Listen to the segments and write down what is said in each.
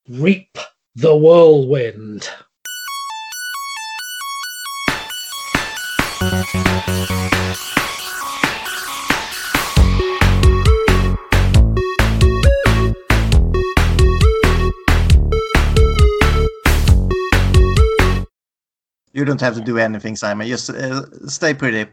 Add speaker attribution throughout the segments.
Speaker 1: Reap the whirlwind.
Speaker 2: You don't have to do anything, Simon. Just stay pretty.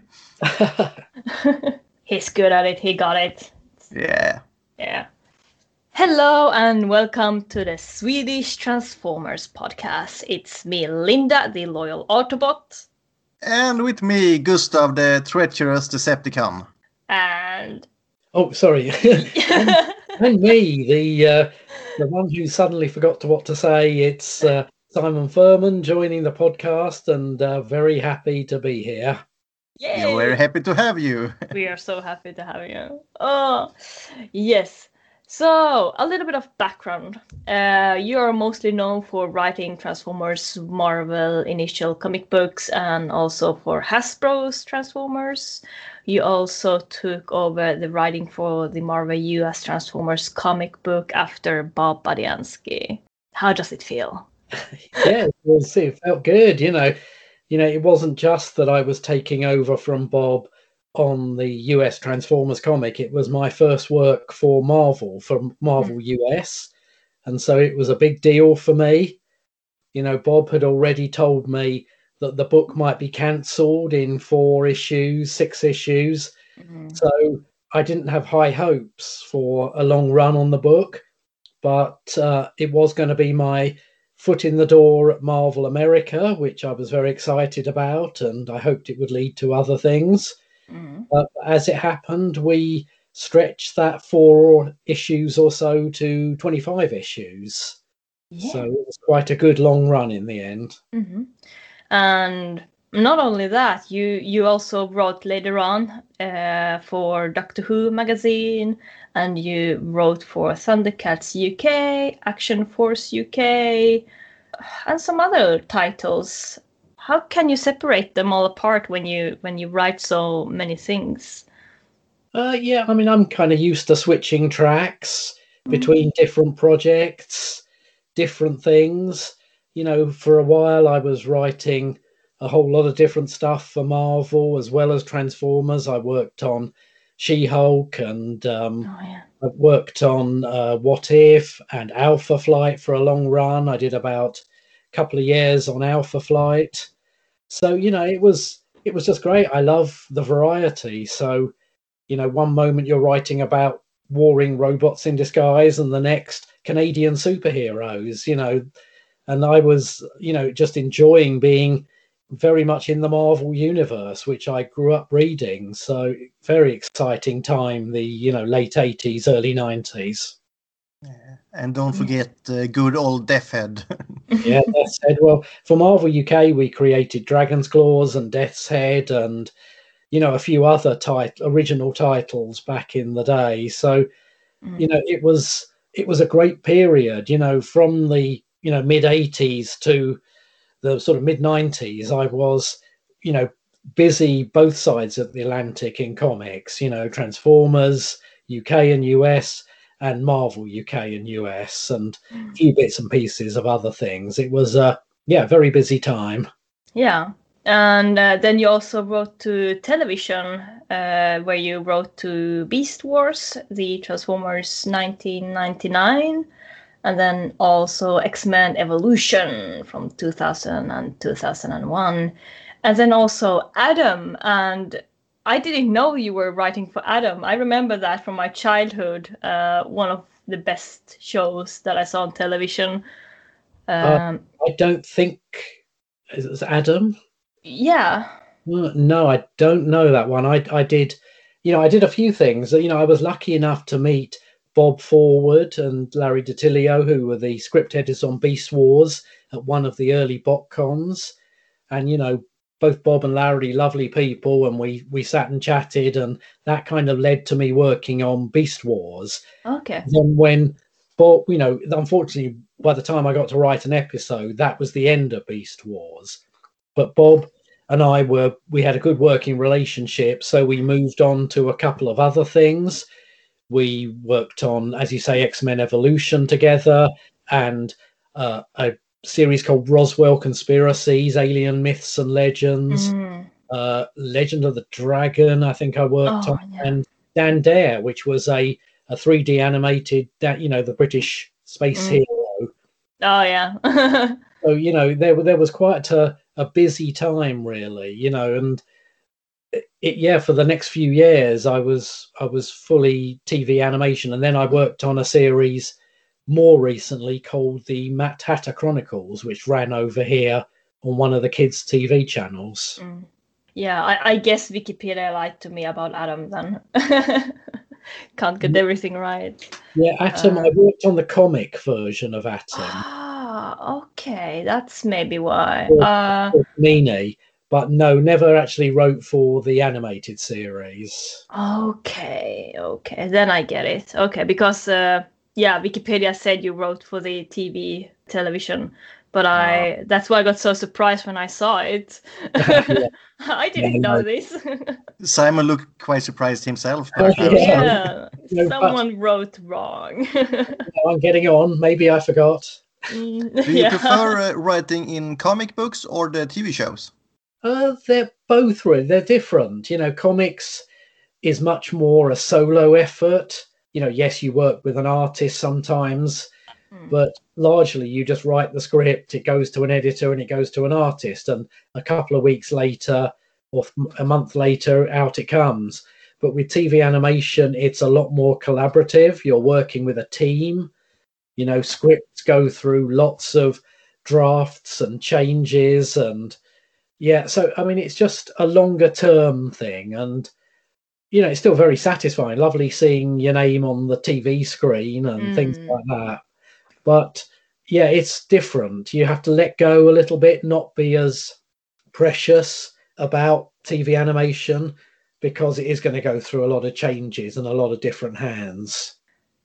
Speaker 3: He's good at it. He got it.
Speaker 2: Yeah.
Speaker 3: Yeah. Hello and welcome to the Swedish Transformers podcast. It's me, Linda, the loyal Autobot.
Speaker 2: And with me, Gustav, the treacherous Decepticon.
Speaker 3: And...
Speaker 1: Oh, sorry. and me, the one who suddenly forgot what to say. It's Simon Furman joining the podcast, and very happy to be here.
Speaker 3: Yay!
Speaker 2: We're very happy to have you.
Speaker 3: We are so happy to have you. Oh, yes. So, a little bit of background. You are mostly known for writing Transformers Marvel initial comic books and also for Hasbro's Transformers. You also took over the writing for the Marvel US Transformers comic book after Bob Budiansky. How does it feel?
Speaker 1: Yeah, it felt good. You know, it wasn't just that I was taking over from Bob on the US Transformers comic. It was my first work for Marvel US, and so it was a big deal for me. You know, Bob had already told me that the book might be cancelled in 6 issues. So I didn't have high hopes for a long run on the book, but it was going to be my foot in the door at Marvel America, which I was very excited about, and I hoped it would lead to other things. But as it happened, we stretched that 4 issues or so to 25 issues. Yeah. So it was quite a good long run in the end.
Speaker 3: And not only that, you also wrote later on for Doctor Who magazine, and you wrote for Thundercats UK, Action Force UK, and some other titles. How can you separate them all apart when you write so many things?
Speaker 1: Yeah, I mean, I'm kind of used to switching tracks between different projects, different things. You know, for a while I was writing a whole lot of different stuff for Marvel as well as Transformers. I worked on She-Hulk and I worked on What If and Alpha Flight for a long run. I did about a couple of years on Alpha Flight. So, you know, it was just great. I love the variety. So, you know, one moment you're writing about warring robots in disguise and the next Canadian superheroes, you know, and I was, you know, just enjoying being very much in the Marvel universe, which I grew up reading. So very exciting time, the, you know, late 80s, early 90s.
Speaker 2: Yeah. And don't forget good old Deathhead.
Speaker 1: Yeah, Death's Head. Well, for Marvel UK, we created Dragon's Claws and Death's Head and, you know, a few other original titles back in the day. So, you know, it was a great period, you know, from the, you know, mid 80s to the sort of mid 90s. I was, you know, busy both sides of the Atlantic in comics, you know, Transformers, UK and US, and Marvel UK and US, and a few bits and pieces of other things. It was a very busy time.
Speaker 3: Yeah. And then you also wrote to television, where you wrote to Beast Wars, the Transformers 1999, and then also X-Men Evolution from 2000 and 2001, and then also Adam. And I didn't know you were writing for Adam. I remember that from my childhood, one of the best shows that I saw on television.
Speaker 1: I don't think it was Adam.
Speaker 3: Yeah.
Speaker 1: No, I don't know that one. I did, you know, I did a few things. You know, I was lucky enough to meet Bob Forward and Larry DiTilio, who were the script editors on Beast Wars at one of the early BotCons. And, you know, both Bob and Larry, lovely people, and we sat and chatted, and that kind of led to me working on Beast Wars.
Speaker 3: Okay.
Speaker 1: Then when Bob, you know, unfortunately, by the time I got to write an episode, that was the end of Beast Wars. But Bob and we had a good working relationship, so we moved on to a couple of other things. We worked on, as you say, X-Men Evolution together, and a series called Roswell Conspiracies, Alien Myths and Legends, Legend of the Dragon, I think I worked on, and Dan Dare, which was a 3D animated, the British space hero.
Speaker 3: Oh, yeah.
Speaker 1: So, there was quite a busy time, really, and for the next few years, I was fully TV animation. And then I worked on a series more recently called the Matt Hatter Chronicles, which ran over here on one of the kids' TV channels.
Speaker 3: Yeah, I guess Wikipedia lied to me about Atom then. Can't get everything right.
Speaker 1: Yeah, Atom, I worked on the comic version of Atom.
Speaker 3: Ah, okay. That's maybe why.
Speaker 1: Meanie, but no, never actually wrote for the animated series.
Speaker 3: Okay. Then I get it. Okay, because Wikipedia said you wrote for the television, but that's why I got so surprised when I saw it. I didn't know this.
Speaker 2: Simon looked quite surprised himself.
Speaker 3: Someone wrote wrong.
Speaker 1: I'm getting on. Maybe I forgot.
Speaker 2: Do you prefer writing in comic books or the TV shows?
Speaker 1: They're both really. They're different. Comics is much more a solo effort. Yes, you work with an artist sometimes, but largely you just write the script, it goes to an editor and it goes to an artist, and a couple of weeks later or a month later out it comes. But with TV animation, it's a lot more collaborative. You're working with a team. Scripts go through lots of drafts and changes, and so I mean it's just a longer term thing, and it's still very satisfying. Lovely seeing your name on the TV screen and things like that. But it's different. You have to let go a little bit, not be as precious about TV animation, because it is going to go through a lot of changes and a lot of different hands.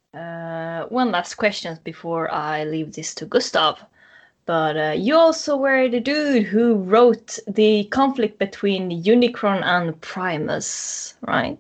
Speaker 3: One last question before I leave this to Gustav. But you also were the dude who wrote the conflict between Unicron and Primus, right?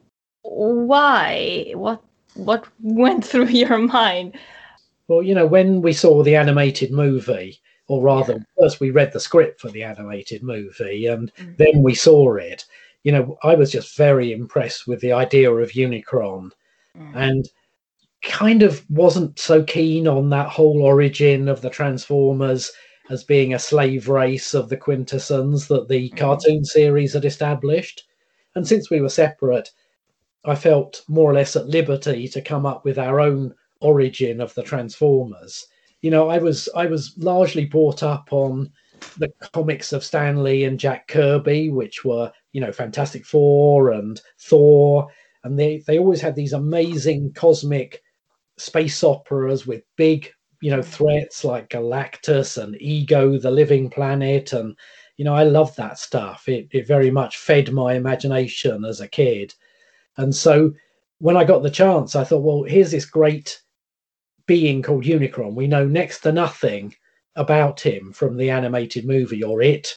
Speaker 3: Why? What went through your mind?
Speaker 1: Well, when we saw the animated movie, or rather, first we read the script for the animated movie, and then we saw it. I was just very impressed with the idea of Unicron, and kind of wasn't so keen on that whole origin of the Transformers as being a slave race of the Quintessons that the cartoon series had established. And since we were separate, I felt more or less at liberty to come up with our own origin of the Transformers. I was largely brought up on the comics of Stan Lee and Jack Kirby, which were, Fantastic Four and Thor, and they always had these amazing cosmic space operas with big, threats like Galactus and Ego, the living planet. And, I loved that stuff. It very much fed my imagination as a kid. And so when I got the chance, I thought, well, here's this great being called Unicron. We know next to nothing about him from the animated movie or it.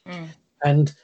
Speaker 1: And,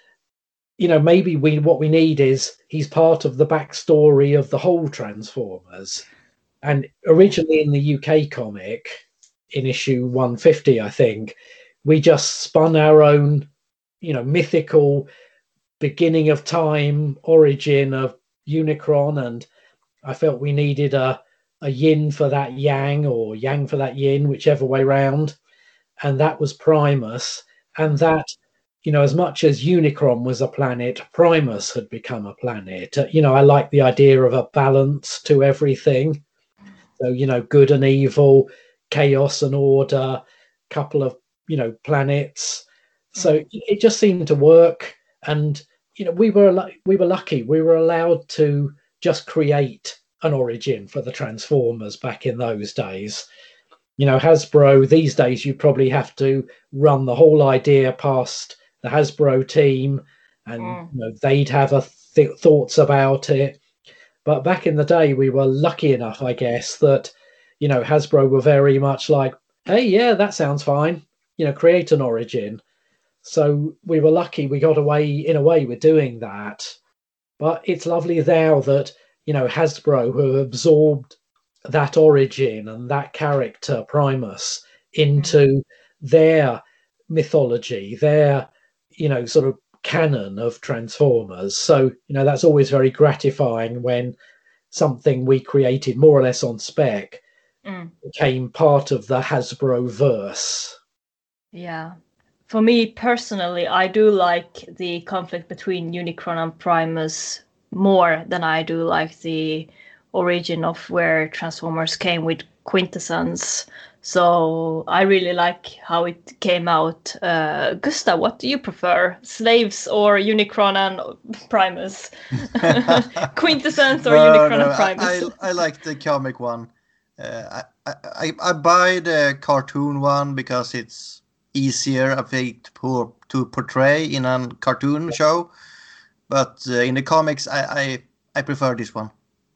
Speaker 1: maybe what we need is he's part of the backstory of the whole Transformers. And originally in the UK comic, in issue 150, I think, we just spun our own, mythical beginning of time origin of Unicron. And I felt we needed a yin for that yang, or yang for that yin, whichever way round. And that was Primus. And that, as much as Unicron was a planet, Primus had become a planet. I like the idea of a balance to everything. So, good and evil, chaos and order, couple of, planets. So it just seemed to work. And, we were lucky. We were allowed to just create an origin for the Transformers back in those days. Hasbro, these days, you probably have to run the whole idea past the Hasbro team, and they'd have thoughts about it. But back in the day, we were lucky enough, I guess, that, Hasbro were very much like, hey, yeah, that sounds fine. Create an origin. So we were lucky we got away, in a way, with doing that. But it's lovely now that, Hasbro have absorbed that origin and that character, Primus, into their mythology, their, sort of canon of Transformers. So, that's always very gratifying when something we created more or less on spec became part of the Hasbro verse.
Speaker 3: Yeah. For me personally, I do like the conflict between Unicron and Primus more than I do like the origin of where Transformers came with Quintessence. So I really like how it came out. Gustav, what do you prefer? Slaves or Unicron and Primus? Quintessence or Unicron and Primus?
Speaker 2: I like the comic one. I buy the cartoon one because it's easier, I think, to portray in a cartoon show. But in the comics, I prefer this one.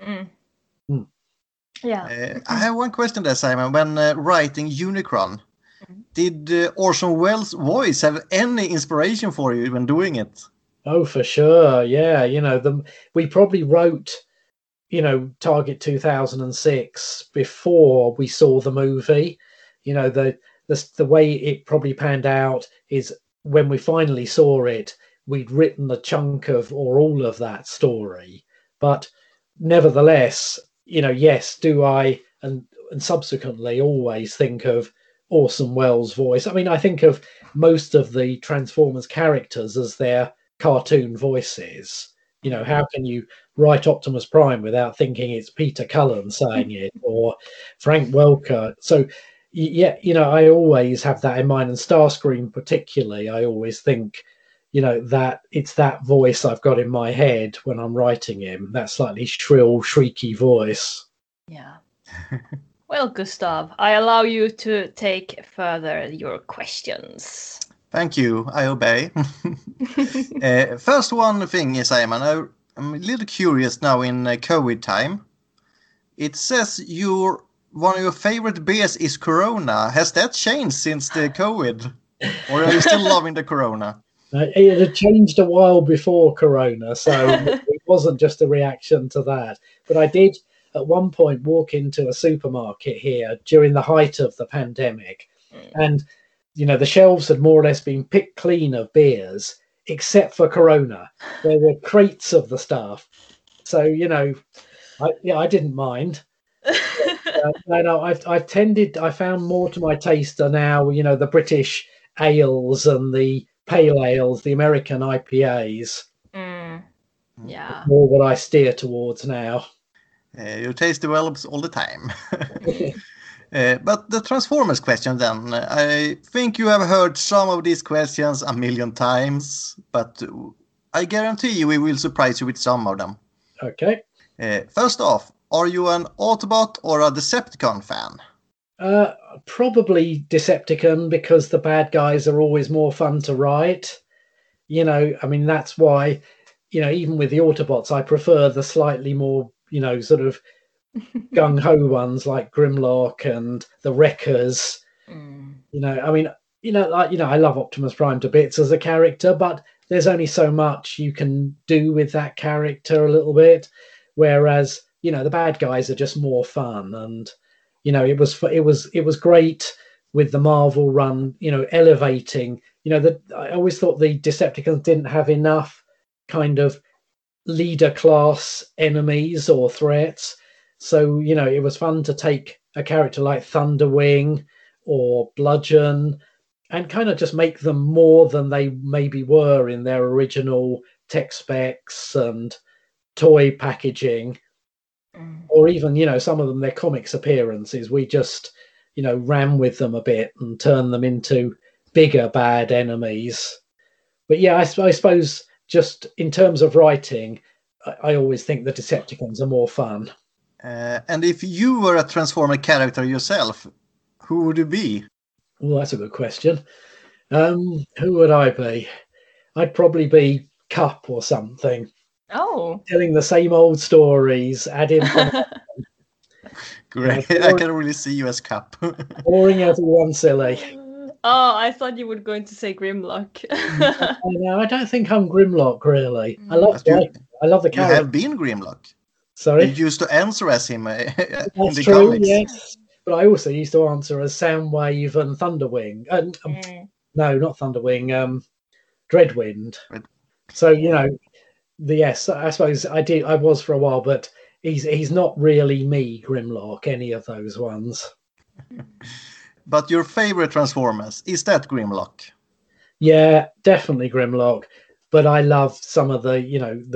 Speaker 3: Yeah.
Speaker 2: I have one question there, Simon. When writing Unicron, did Orson Welles' voice have any inspiration for you when doing it?
Speaker 1: Oh, for sure. Yeah. We probably wrote, Target 2006 before we saw the movie. The way it probably panned out is when we finally saw it, we'd written a chunk of or all of that story. But nevertheless, yes, do I and subsequently always think of Orson Welles' voice. I mean, I think of most of the Transformers characters as their cartoon voices. How can you write Optimus Prime without thinking it's Peter Cullen saying it or Frank Welker? So, yeah, I always have that in mind. And Starscream particularly, I always think, that it's that voice I've got in my head when I'm writing him, that slightly shrill, shrieky voice.
Speaker 3: Yeah. Well, Gustav, I allow you to take further your questions.
Speaker 2: Thank you. I obey. First one thing, Simon, I'm a little curious now in COVID time. It says one of your favorite beers is Corona. Has that changed since the COVID? Or are you still loving the Corona?
Speaker 1: It had changed a while before Corona, so it wasn't just a reaction to that. But I did at one point walk into a supermarket here during the height of the pandemic, and the shelves had more or less been picked clean of beers, except for Corona. There were crates of the stuff. So, I didn't mind. I found more to my taste are now, the British ales and the pale ales, the American IPAs.
Speaker 3: Yeah.
Speaker 1: More what I steer towards now.
Speaker 2: Your taste develops all the time. But the Transformers question then. I think you have heard some of these questions a million times, but I guarantee you we will surprise you with some of them.
Speaker 1: Okay.
Speaker 2: First off, are you an Autobot or a Decepticon fan?
Speaker 1: Probably Decepticon, because the bad guys are always more fun to write. That's why, even with the Autobots, I prefer the slightly more, sort of gung-ho ones like Grimlock and the Wreckers. I love Optimus Prime to bits as a character, but there's only so much you can do with that character a little bit. Whereas, the bad guys are just more fun. And, it was great with the Marvel run, elevating, I always thought the Decepticons didn't have enough kind of leader class enemies or threats. So, it was fun to take a character like Thunderwing or Bludgeon and kind of just make them more than they maybe were in their original tech specs and toy packaging. Or even, some of them, their comics appearances, we just, ran with them a bit and turned them into bigger bad enemies. But yeah, I suppose just in terms of writing, I always think the Decepticons are more fun.
Speaker 2: And if you were a Transformer character yourself, who would you be?
Speaker 1: Well, that's a good question. Who would I be? I'd probably be Cup or something.
Speaker 3: Oh.
Speaker 1: Telling the same old stories, adding...
Speaker 2: Great. I can really see you as Cup.
Speaker 1: Boring everyone silly.
Speaker 3: Oh, I thought you were going to say Grimlock.
Speaker 1: No, I don't think I'm Grimlock, really. I love the character.
Speaker 2: You have been Grimlock.
Speaker 1: Sorry?
Speaker 2: You used to answer as him in the
Speaker 1: true,
Speaker 2: comics.
Speaker 1: Yes. but I also used to answer as Soundwave and Thunderwing. And no, not Thunderwing. Dreadwind. So yes, I suppose I did. I was for a while, but he's not really me, Grimlock. Any of those ones.
Speaker 2: But your favorite Transformers, is that Grimlock?
Speaker 1: Yeah, definitely Grimlock. But I love some of the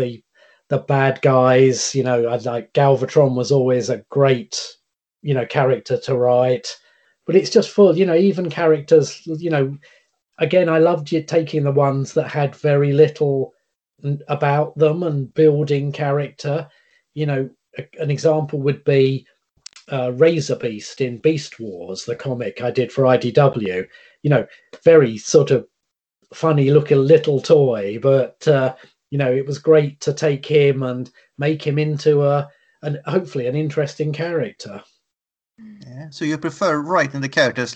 Speaker 1: the bad guys. I like Galvatron was always a great character to write. But it's just full. Even characters. Again, I loved you taking the ones that had very little about them and building character. An example would be Razor Beast in Beast Wars, the comic I did for IDW. Very sort of funny looking little toy, but it was great to take him and make him into hopefully an interesting character.
Speaker 2: Yeah. So you prefer writing the characters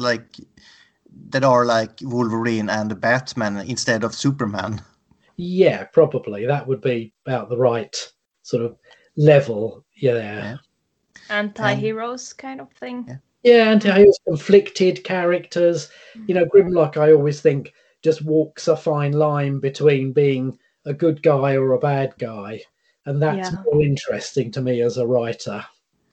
Speaker 2: that are like Wolverine and Batman instead of Superman?
Speaker 1: Yeah, probably that would be about the right sort of level. Yeah.
Speaker 3: Anti-heroes kind of thing.
Speaker 1: Yeah, anti-heroes, conflicted characters. Grimlock, I always think, just walks a fine line between being a good guy or a bad guy, and that's more interesting to me as a writer.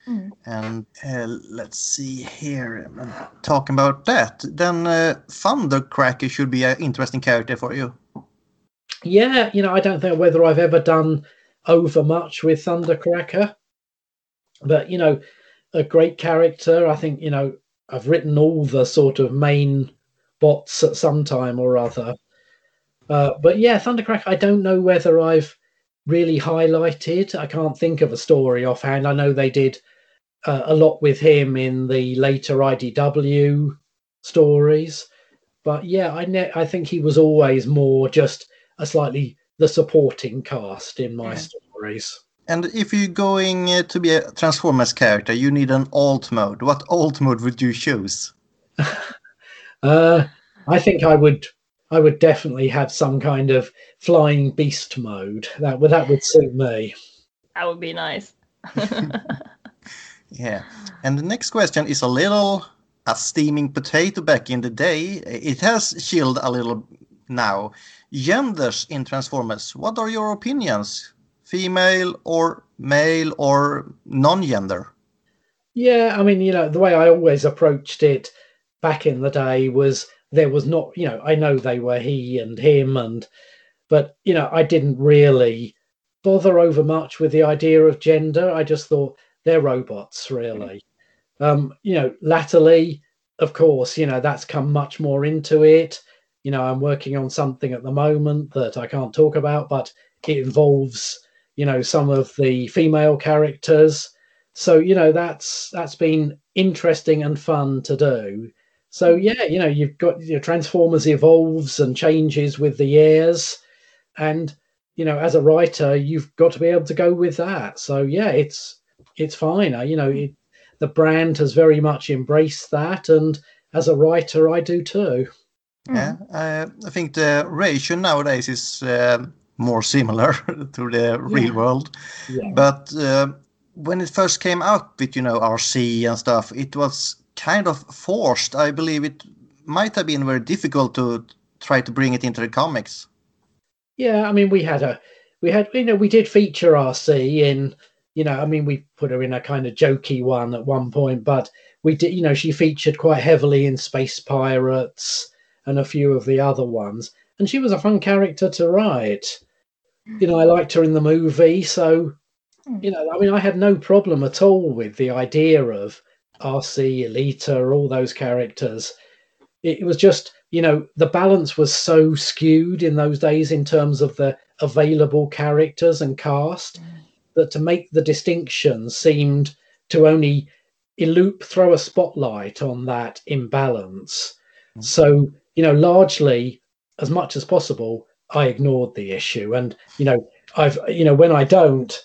Speaker 2: And let's see here, talking about that, then Thundercracker should be an interesting character for you.
Speaker 1: Yeah, I don't know whether I've ever done over much with Thundercracker, but a great character. I think I've written all the sort of main bots at some time or other. But yeah, Thundercracker, I don't know whether I've really highlighted. I can't think of a story offhand. I know they did a lot with him in the later IDW stories, but yeah, I think he was always more just a slightly the supporting cast in my stories.
Speaker 2: And if you're going to be a Transformers character, you need an alt mode. What alt mode would you choose?
Speaker 1: I think I would definitely have some kind of flying beast mode. That would suit me.
Speaker 3: That would be nice.
Speaker 2: Yeah. And the next question is a steaming potato back in the day. It has chilled a little now. Genders in Transformers. What are your opinions? Female or male or non-gender?
Speaker 1: Yeah, I mean, the way I always approached it back in the day was there was not, I know they were he and him, but I didn't really bother over much with the idea of gender. I just thought they're robots, really. Latterly, of course, that's come much more into it. I'm working on something at the moment that I can't talk about, but it involves, some of the female characters. So, that's been interesting and fun to do. So, yeah, you've got your Transformers evolves and changes with the years. And, as a writer, you've got to be able to go with that. So, yeah, it's fine. The brand has very much embraced that. And as a writer, I do too.
Speaker 2: Yeah, I think the ratio nowadays is more similar to the real world. Yeah. But when it first came out with, RC and stuff, it was kind of forced. I believe it might have been very difficult to try to bring it into the comics.
Speaker 1: Yeah, I mean, we did feature RC in, we put her in a kind of jokey one at one point, but we did, she featured quite heavily in Space Pirates and a few of the other ones. And she was a fun character to write. I liked her in the movie. So, I had no problem at all with the idea of RC, Elita, all those characters. It was just, the balance was so skewed in those days in terms of the available characters and cast that to make the distinction seemed to only throw a spotlight on that imbalance. So, largely, as much as possible, I ignored the issue. And, when I don't,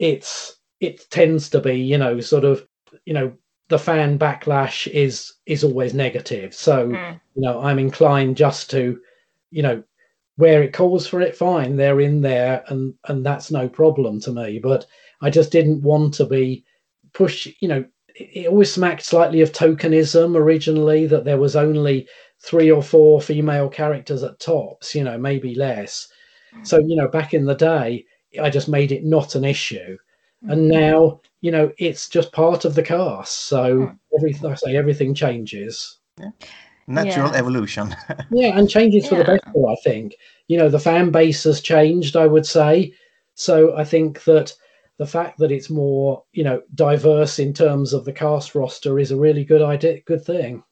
Speaker 1: it tends to be, sort of, the fan backlash is always negative. So, I'm inclined just to, where it calls for it, fine, they're in there and that's no problem to me. But I just didn't want to be it always smacked slightly of tokenism originally, that there was only 3 or 4 female characters at tops, maybe less. So, back in the day, I just made it not an issue. And now, it's just part of the cast. So everything changes.
Speaker 2: Yeah. Natural evolution.
Speaker 1: Yeah, and changes for the better, I think. The fan base has changed, I would say. So I think that the fact that it's more, diverse in terms of the cast roster is a really good thing.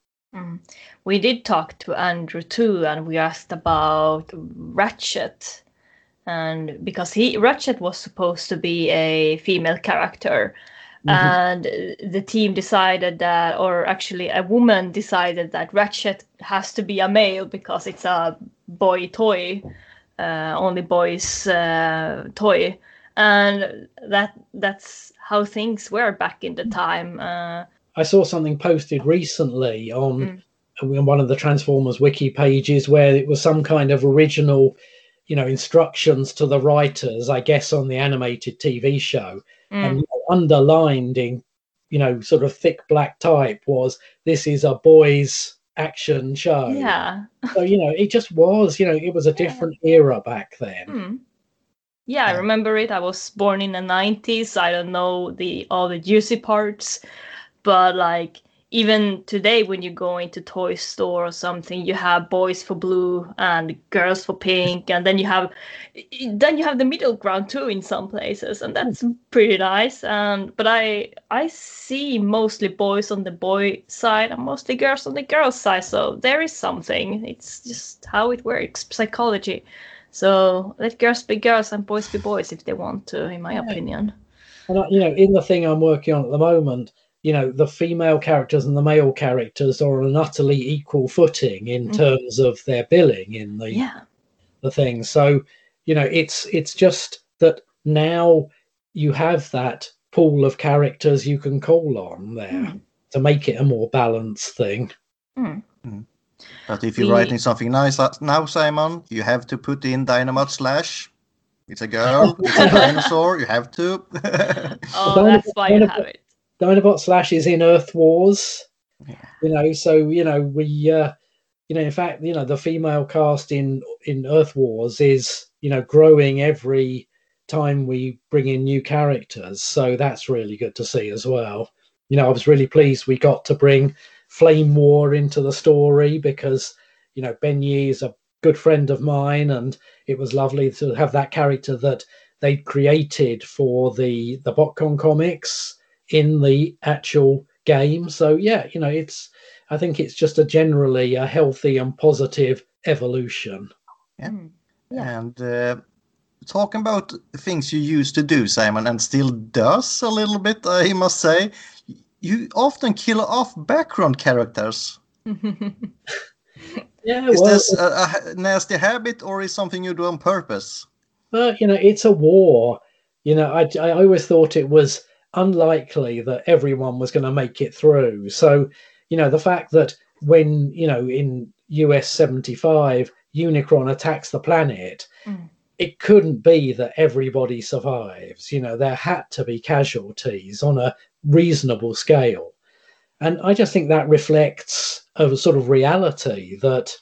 Speaker 3: We did talk to Andrew too, and we asked about Ratchet. And because Ratchet was supposed to be a female character, and the team decided that, or actually a woman decided that Ratchet has to be a male because it's a boy toy, only boys toy, and that's how things were back in the time.
Speaker 1: I saw something posted recently on one of the Transformers wiki pages where it was some kind of original, instructions to the writers, I guess, on the animated TV show. And underlined in, sort of thick black type was, this is a boys' action show.
Speaker 3: Yeah.
Speaker 1: So, it just was, it was a different era back then.
Speaker 3: Yeah, I remember it. I was born in the 90s. I don't know all the juicy parts, but like even today when you go into toy store or something, you have boys for blue and girls for pink, and then you have the middle ground too in some places, and that's pretty nice. But I see mostly boys on the boy side and mostly girls on the girl side, so there is something. It's just how it works, psychology. So let girls be girls and boys be boys if they want to, in my opinion.
Speaker 1: And in the thing I'm working on at the moment, the female characters and the male characters are on an utterly equal footing in terms of their billing in the thing. So, it's just that now you have that pool of characters you can call on there to make it a more balanced thing.
Speaker 2: But if you're writing something nice now, Simon, you have to put in Dynamite Slash. It's a girl, it's a dinosaur, you have to.
Speaker 3: That's why you have it.
Speaker 1: Dinobot Slash is in Earth Wars, so, we, in fact, the female cast in Earth Wars is, growing every time we bring in new characters. So that's really good to see as well. I was really pleased we got to bring Flame War into the story because, Ben Yi is a good friend of mine, and it was lovely to have that character that they'd created for the BotCon comics in the actual game. So I think it's just generally a healthy and positive evolution.
Speaker 2: And talking about things you used to do, Simon, and still does a little bit, I must say, you often kill off background characters. Is this a nasty habit, or is something you do on purpose?
Speaker 1: Well, it's a war. I always thought it was unlikely that everyone was going to make it through. So, the fact that when, in US 75, Unicron attacks the planet, it couldn't be that everybody survives. There had to be casualties on a reasonable scale. And I just think that reflects a sort of reality that,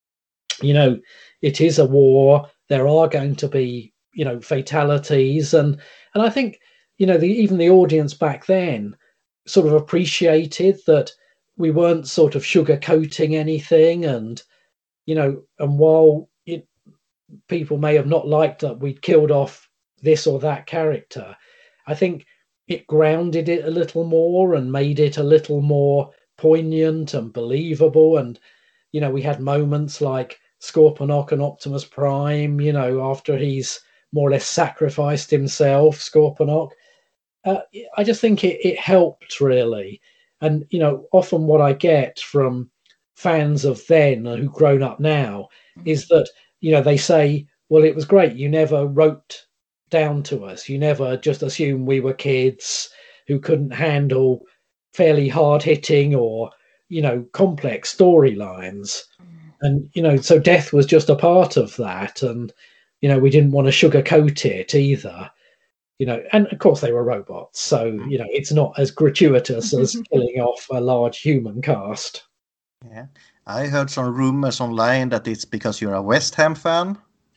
Speaker 1: it is a war. There are going to be, fatalities. And I think, even the audience back then sort of appreciated that we weren't sort of sugarcoating anything. And, and while people may have not liked that we'd killed off this or that character, I think it grounded it a little more and made it a little more poignant and believable. And, we had moments like Scorponok and Optimus Prime, after he's more or less sacrificed himself, Scorponok. I just think it helped, really. And, often what I get from fans of then who've grown up now is that, they say, well, it was great. You never wrote down to us. You never just assumed we were kids who couldn't handle fairly hard-hitting or, complex storylines. And, so death was just a part of that. And, we didn't want to sugarcoat it either. you know, and of course they were robots, so you know it's not as gratuitous as killing off a large human cast.
Speaker 2: Yeah, I heard some rumors online that it's because you're a West Ham fan.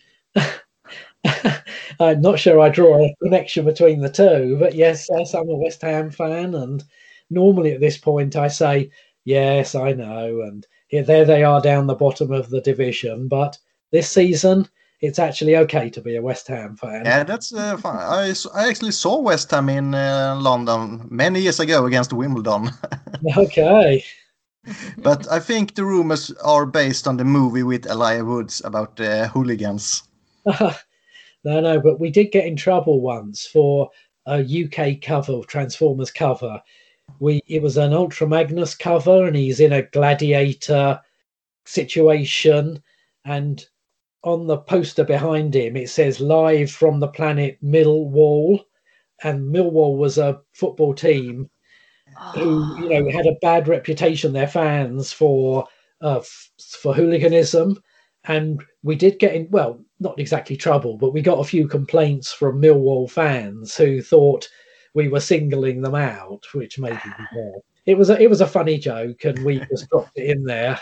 Speaker 1: I'm not sure I draw a connection between the two, but yes, I'm a West Ham fan, and normally at this point I say, yes, I know, and here, there they are down the bottom of the division, but this season it's actually okay to be a West Ham fan.
Speaker 2: Yeah, that's fun. I actually saw West Ham in London many years ago against Wimbledon.
Speaker 1: Okay.
Speaker 2: But I think the rumors are based on the movie with Elijah Woods about hooligans.
Speaker 1: No, but we did get in trouble once for a UK cover, Transformers cover. It was an Ultra Magnus cover, and he's in a gladiator situation, and on the poster behind him it says "Live from the planet Millwall," and Millwall was a football team who, you know, had a bad reputation, their fans, for hooliganism, and we did get in, well, not exactly trouble, but we got a few complaints from Millwall fans who thought we were singling them out, which maybe we were. It was a funny joke, and we just dropped it in there.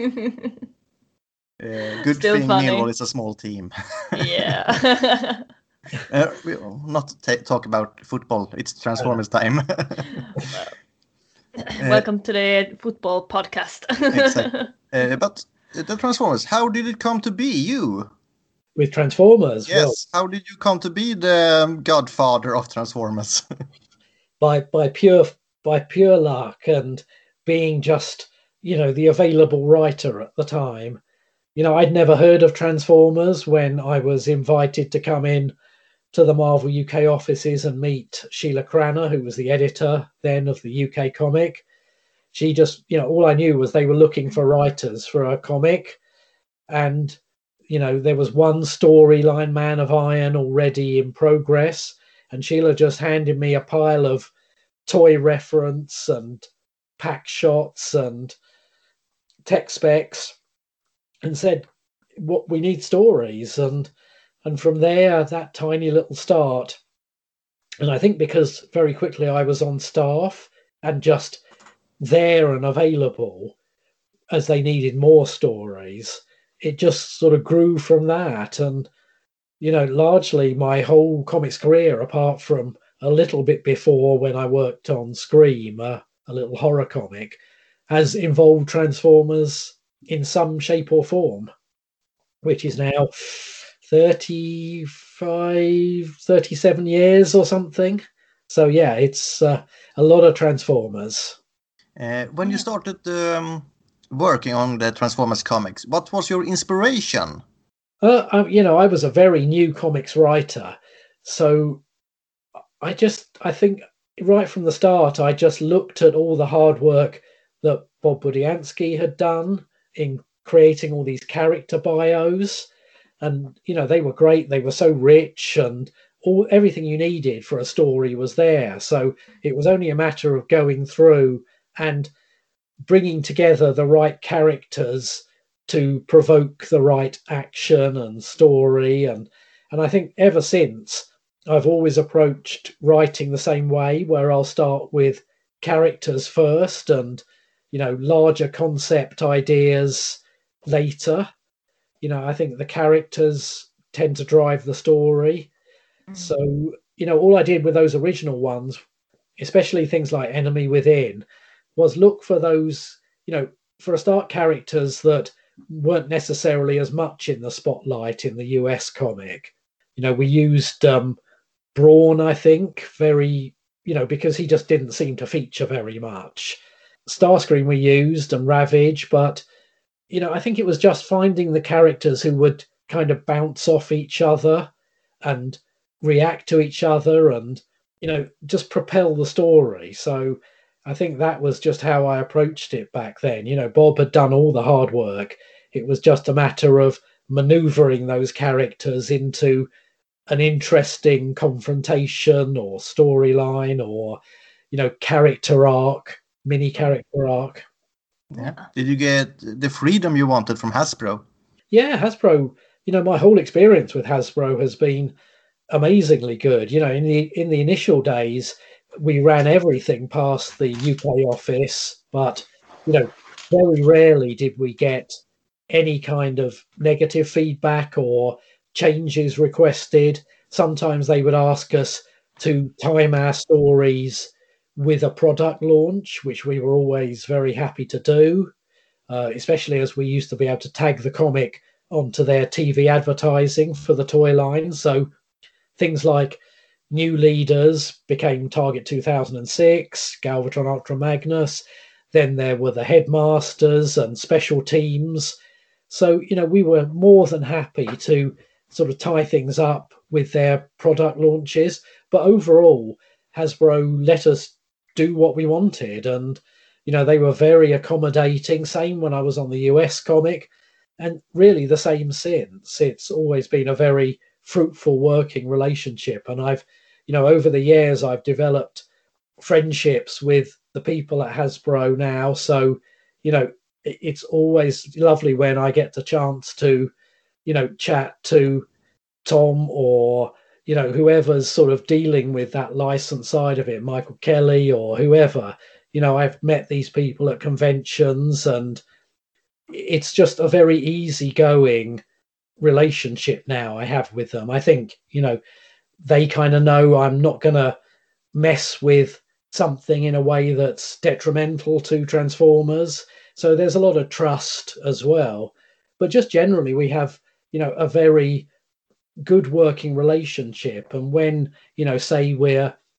Speaker 2: Good
Speaker 3: Still
Speaker 2: thing
Speaker 3: funny.
Speaker 2: Millwall is a small team.
Speaker 3: Yeah.
Speaker 2: We'll not talk about football. It's Transformers time.
Speaker 3: Welcome to the football podcast.
Speaker 2: Exactly. But the Transformers, how did it come to be you?
Speaker 1: With Transformers,
Speaker 2: Yes,
Speaker 1: well,
Speaker 2: how did you come to be the godfather of Transformers?
Speaker 1: by pure luck and being just, you know, the available writer at the time. You know, I'd never heard of Transformers when I was invited to come in to the Marvel UK offices and meet Sheila Cranner, who was the editor then of the UK comic. She just, you know, all I knew was they were looking for writers for a comic, and you know, there was one storyline, Man of Iron, already in progress, and Sheila just handed me a pile of toy reference and pack shots and tech specs and said, what, we need stories. And from there, that tiny little start, and I think because very quickly I was on staff and just there and available as they needed more stories, it just sort of grew from that. And, you know, largely my whole comics career, apart from a little bit before when I worked on Scream, a little horror comic, has involved Transformers in some shape or form, which is now 37 years or something. So yeah, it's a lot of Transformers.
Speaker 2: When you started working on the Transformers comics, what was your inspiration?
Speaker 1: You know, I was a very new comics writer, so I think right from the start, I just looked at all the hard work that Bob Budiansky had done in creating all these character bios, and you know, they were great. They were so rich, and everything you needed for a story was there. So it was only a matter of going through and bringing together the right characters to provoke the right action and story. And I think ever since, I've always approached writing the same way, where I'll start with characters first and, you know, larger concept ideas later. You know, I think the characters tend to drive the story. So, you know, all I did with those original ones, especially things like Enemy Within, was look for those, you know, for a start, characters that weren't necessarily as much in the spotlight in the US comic. You know, we used Brawn, I think, very, you know, because he just didn't seem to feature very much. Starscream we used, and Ravage, but, you know, I think it was just finding the characters who would kind of bounce off each other and react to each other and, you know, just propel the story. So I think that was just how I approached it back then. You know, Bob had done all the hard work. It was just a matter of maneuvering those characters into an interesting confrontation or storyline or, you know, character arc, mini character arc.
Speaker 2: Yeah. Did you get the freedom you wanted from Hasbro?
Speaker 1: Yeah, Hasbro, you know, my whole experience with Hasbro has been amazingly good. You know, in the initial days, we ran everything past the UK office, but you know, very rarely did we get any kind of negative feedback or changes requested. Sometimes they would ask us to time our stories with a product launch, which we were always very happy to do, especially as we used to be able to tag the comic onto their TV advertising for the toy line. So things like New Leaders became Target 2006, Galvatron Ultra Magnus. Then there were the Headmasters and Special Teams. So, you know, we were more than happy to sort of tie things up with their product launches. But overall, Hasbro let us do what we wanted. And, you know, they were very accommodating. Same when I was on the US comic. And really the same since. It's always been a very fruitful working relationship. And I've, you know, over the years, I've developed friendships with the people at Hasbro now. So, you know, it's always lovely when I get the chance to, you know, chat to Tom or, you know, whoever's sort of dealing with that license side of it, Michael Kelly or whoever. You know, I've met these people at conventions, and it's just a very easygoing relationship now I have with them. I think, you know, they kind of know I'm not going to mess with something in a way that's detrimental to Transformers. So there's a lot of trust as well. But just generally, we have, you know, a very good working relationship. And when, you know, say we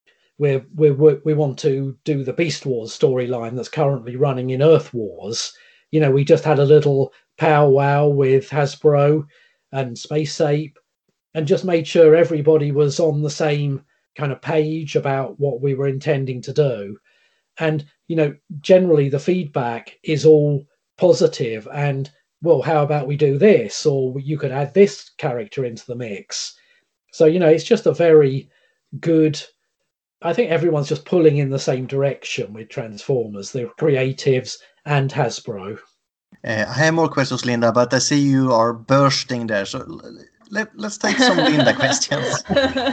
Speaker 1: want to do the Beast Wars storyline that's currently running in Earth Wars, you know, we just had a little powwow with Hasbro and Space Ape and just made sure everybody was on the same kind of page about what we were intending to do. And, you know, generally the feedback is all positive and, well, how about we do this? Or you could add this character into the mix. So, you know, it's just a very good, I think everyone's just pulling in the same direction with Transformers, the creatives and Hasbro.
Speaker 2: I have more questions, Linda, but I see you are bursting there. So let's take some Linda questions.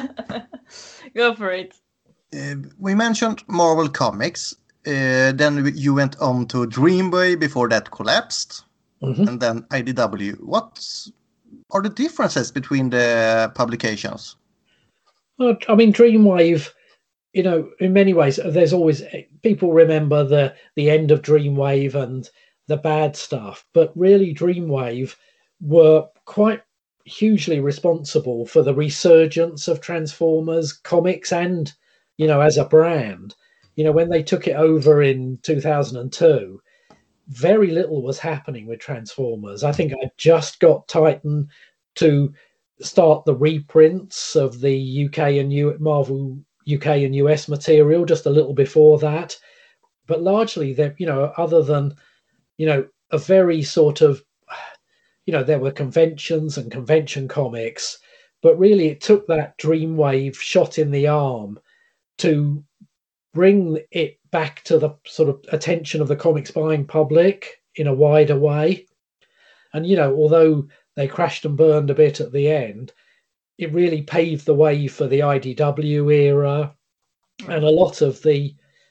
Speaker 3: Go for it.
Speaker 2: We mentioned Marvel Comics. Then you went on to Dreamwave before that collapsed. Mm-hmm. And then IDW. What are the differences between the publications?
Speaker 1: Well, I mean, Dreamwave, you know, in many ways, there's always, people remember the end of Dreamwave and the bad stuff, but really Dreamwave were quite hugely responsible for the resurgence of Transformers comics and, you know, as a brand. You know, when they took it over in 2002, very little was happening with Transformers. I think I just got Titan to start the reprints of the UK and Marvel UK and US material just a little before that. But largely, you know, other than, you know, a very sort of, you know, there were conventions and convention comics, but really it took that Dreamwave shot in the arm to bring it back to the sort of attention of the comics buying public in a wider way. And, you know, although they crashed and burned a bit at the end, it really paved the way for the IDW era and a lot of the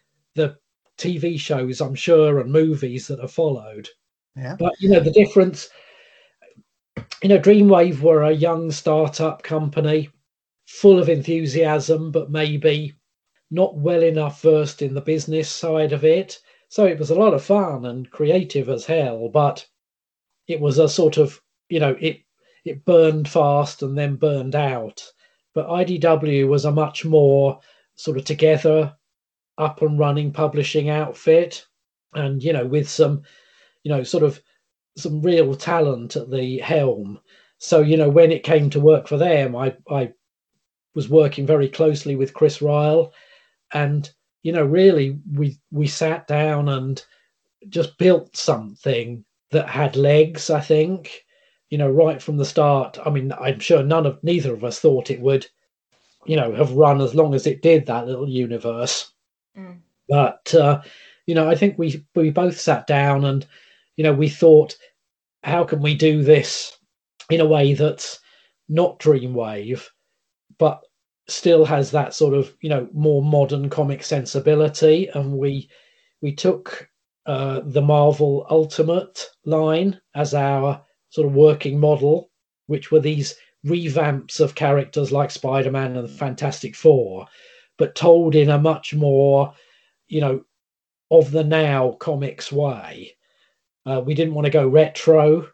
Speaker 1: TV shows, I'm sure, and movies that have followed.
Speaker 2: Yeah.
Speaker 1: But, you know, the difference, you know, Dreamwave were a young startup company full of enthusiasm, but maybe not well enough versed in the business side of it. So it was a lot of fun and creative as hell, but it was a sort of, you know, it burned fast and then burned out. But IDW was a much more sort of together, up and running publishing outfit, and, you know, with some, you know, sort of some real talent at the helm. So, you know, when it came to work for them, I was working very closely with Chris Ryall, and, you know, really we sat down and just built something that had legs, I think, you know, right from the start. I mean, I'm sure neither of us thought it would, you know, have run as long as it did, that little universe. Mm. But, you know, I think we both sat down and, you know, we thought, how can we do this in a way that's not Dreamwave, but still has that sort of, more modern comic sensibility. And we took the Marvel Ultimate line as our sort of working model, which were these revamps of characters like Spider-Man and the Fantastic Four, but told in a much more, of the now comics way. We didn't want to go retro,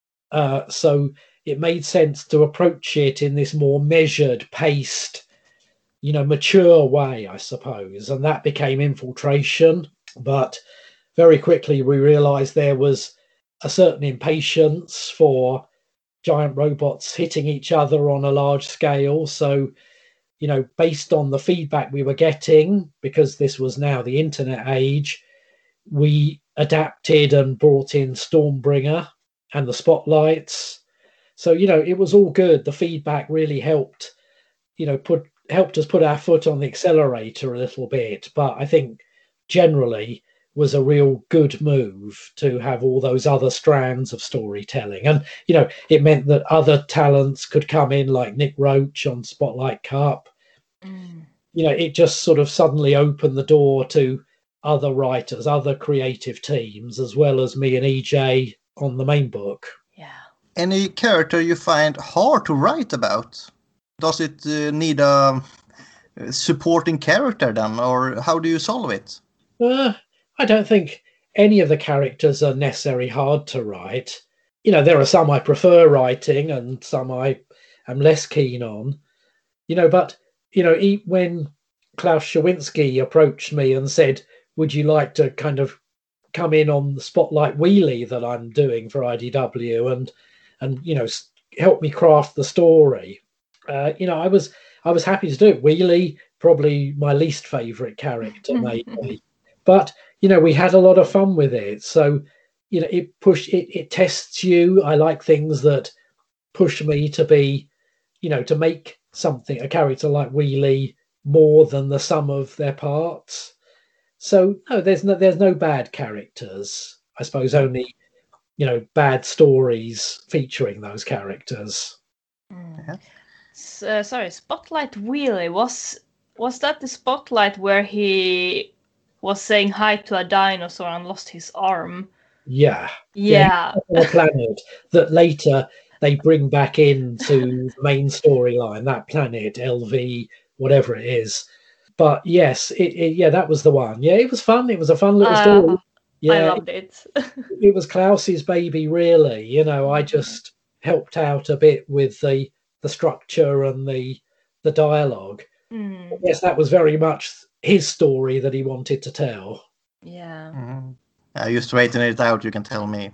Speaker 1: so it made sense to approach it in this more measured, paced, mature way, I suppose. And that became Infiltration. But very quickly we realized there was a certain impatience for giant robots hitting each other on a large scale. So, based on the feedback we were getting, because this was now the internet age, we adapted and brought in Stormbringer and the Spotlights. So, it was all good. The feedback really helped, helped us put our foot on the accelerator a little bit. But I think generally was a real good move to have all those other strands of storytelling. And, it meant that other talents could come in, like Nick Roach on Spotlight Cup. It just sort of suddenly opened the door to other writers, other creative teams, as well as me and EJ on the main book.
Speaker 3: Yeah.
Speaker 2: Any character you find hard to write about? Does it need a supporting character then, or how do you solve it?
Speaker 1: I don't think any of the characters are necessarily hard to write. There are some I prefer writing and some I am less keen on. But when Klaus Schawinski approached me and said, would you like to kind of come in on the Spotlight Wheelie that I'm doing for IDW and help me craft the story? I was happy to do it. Wheelie, probably my least favorite character, maybe. But, we had a lot of fun with it. So, it tests you. I like things that push me to be, to make a character like Wheelie more than the sum of their parts. So no, there's no bad characters. I suppose only, bad stories featuring those characters.
Speaker 3: Yeah. Sorry, Spotlight Wheelie, was that the Spotlight where he was saying hi to a dinosaur and lost his arm?
Speaker 1: Yeah.
Speaker 3: Yeah.
Speaker 1: On a planet that later they bring back into the main storyline, that planet, LV, whatever it is. But yes, that was the one. Yeah, it was fun. It was a fun little story. Yeah,
Speaker 3: I loved it.
Speaker 1: It was Klaus's baby, really. I just helped out a bit with the structure and the dialogue. Yes, that was very much his story that he wanted to tell.
Speaker 3: Yeah.
Speaker 2: You straighten it out, you can tell me.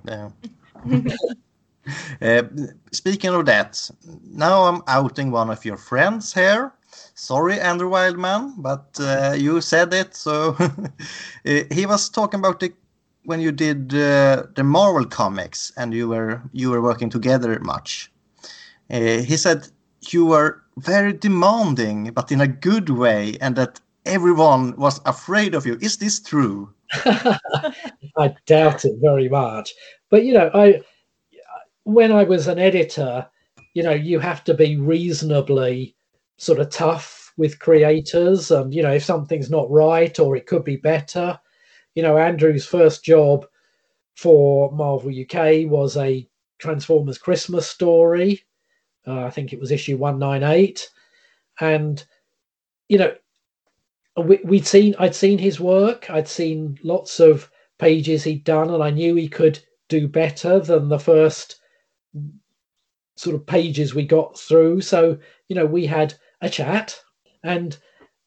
Speaker 2: Speaking of that, now I'm outing one of your friends here. Sorry, Andrew Wildman, but you said it. So he was talking about when you did the Marvel comics and you were working together much. He said you were very demanding, but in a good way, and that everyone was afraid of you. Is this true?
Speaker 1: I doubt it very much. But when I was an editor, you have to be reasonably sort of tough with creators, and if something's not right or it could be better. Andrew's first job for Marvel UK was a Transformers Christmas story. I think it was issue 198, and I'd seen his work. I'd seen lots of pages he'd done, and I knew he could do better than the first sort of pages we got through. So we had a chat, and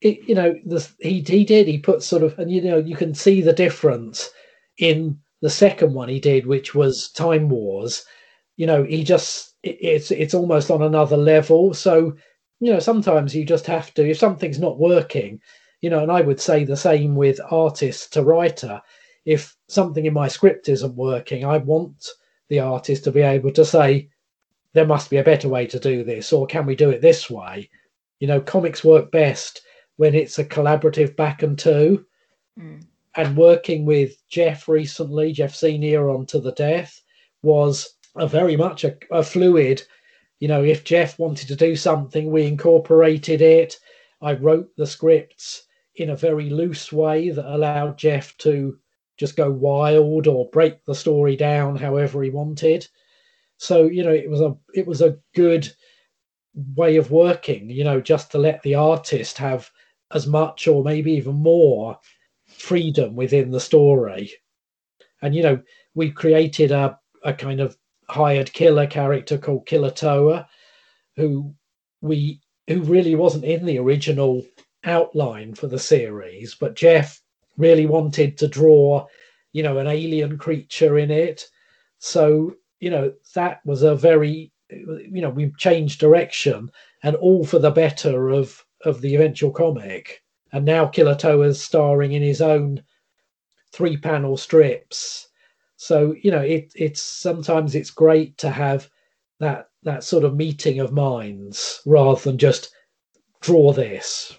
Speaker 1: he put sort of, and you can see the difference in the second one he did, which was Time Wars. He just it's almost on another level. So sometimes you just have to, if something's not working, and I would say the same with artist to writer. If something in my script isn't working, I want the artist to be able to say, there must be a better way to do this, or can we do it this way? Comics work best when it's a collaborative back and two. And working with Jeff recently, Jeff Senior on To the Death, was very much a fluid if Jeff wanted to do something, we incorporated it. I wrote the scripts in a very loose way that allowed Jeff to just go wild or break the story down however he wanted. So, it was a good way of working, just to let the artist have as much or maybe even more freedom within the story. And, we created a kind of hired killer character called Killer Toa, who really wasn't in the original outline for the series, but Jeff really wanted to draw, an alien creature in it. So, that was a very, we changed direction, and all for the better of the eventual comic. And now Killer Toa is starring in his own 3-panel strips. So, it's sometimes it's great to have that sort of meeting of minds rather than just draw this.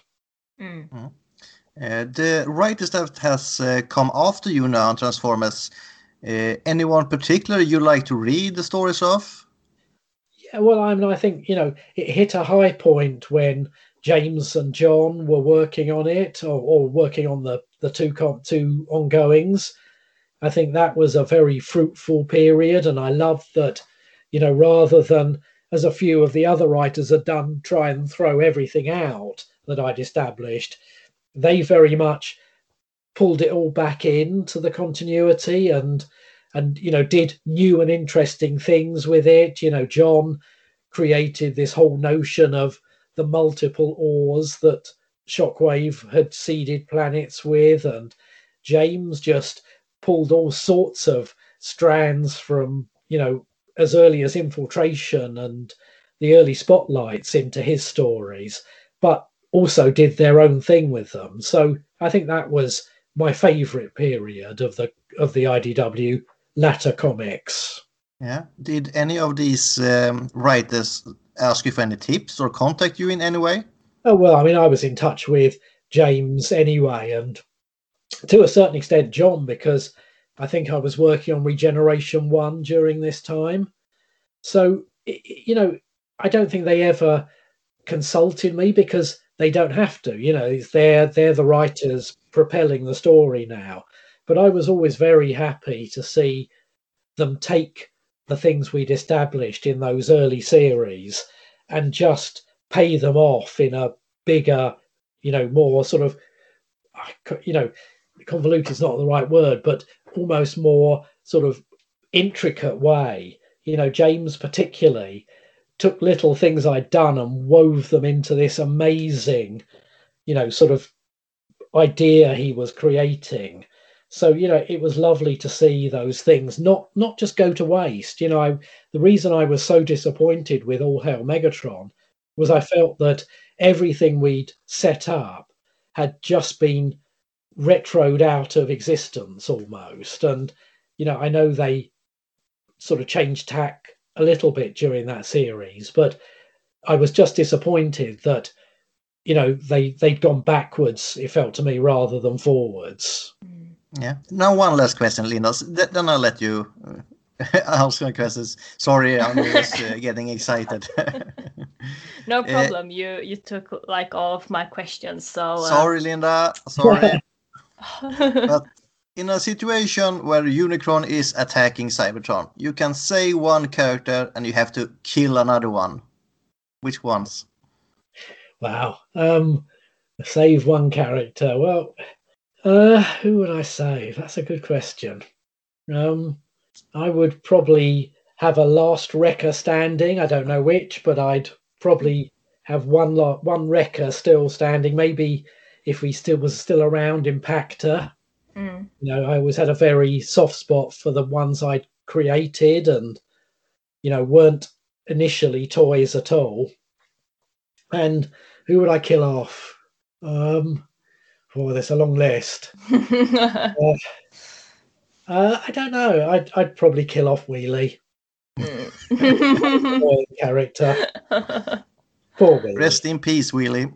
Speaker 2: The writers that has come after you now on Transformers, anyone particular you like to read the stories of?
Speaker 1: Yeah, well, I think, it hit a high point when James and John were working on it, or working on the two ongoings. I think that was a very fruitful period, and I loved that, rather than, as a few of the other writers had done, try and throw everything out that I'd established, they very much pulled it all back into the continuity and did new and interesting things with it. John created this whole notion of the multiple ores that Shockwave had seeded planets with, and James just pulled all sorts of strands from, as early as Infiltration and the early Spotlights into his stories, but also did their own thing with them. So I think that was my favorite period of the IDW latter comics.
Speaker 2: Yeah. Did any of these writers ask you for any tips or contact you in any way?
Speaker 1: Oh, well, I was in touch with James anyway, and to a certain extent John, because I think I was working on Regeneration 1 during this time. So, I don't think they ever consulted me, because they don't have to. They're the writers propelling the story now. But I was always very happy to see them take the things we'd established in those early series and just pay them off in a bigger, more sort of, convoluted is not the right word, but almost more sort of intricate way. James particularly took little things I'd done and wove them into this amazing, sort of idea he was creating. So, it was lovely to see those things not just go to waste. The reason I was so disappointed with All Hail Megatron was I felt that everything we'd set up had just been retroed out of existence almost. And, I know they sort of changed tack a little bit during that series, but I was just disappointed that, they'd gone backwards, it felt to me, rather than forwards.
Speaker 2: Yeah. Now one last question, Linda. Then I'll let you ask my questions. Sorry, I'm just getting excited.
Speaker 3: No problem. You took all of my questions. So
Speaker 2: sorry, Linda. Sorry. But in a situation where Unicron is attacking Cybertron, you can say one character and you have to kill another one. Which ones?
Speaker 1: Wow. Save one character. Well, who would I save? That's a good question. I would probably have a last Wrecker standing. I don't know which, but I'd probably have one Wrecker still standing. Maybe if he was still around, Impactor. I always had a very soft spot for the ones I'd created and, weren't initially toys at all. And who would I kill off? There's a long list. I don't know. I'd probably kill off Wheelie. Character. Poor Wheelie.
Speaker 2: Rest in peace, Wheelie.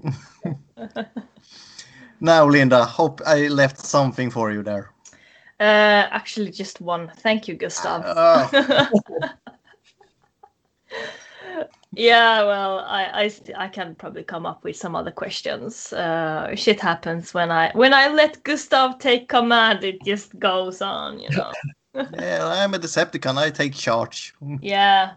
Speaker 2: Now, Linda, hope I left something for you there.
Speaker 3: Actually, just one. Thank you, Gustav. Yeah, well, I can probably come up with some other questions. Shit happens when I let Gustav take command. It just goes on, you know.
Speaker 2: Yeah, I'm a Decepticon. I take charge.
Speaker 3: Yeah.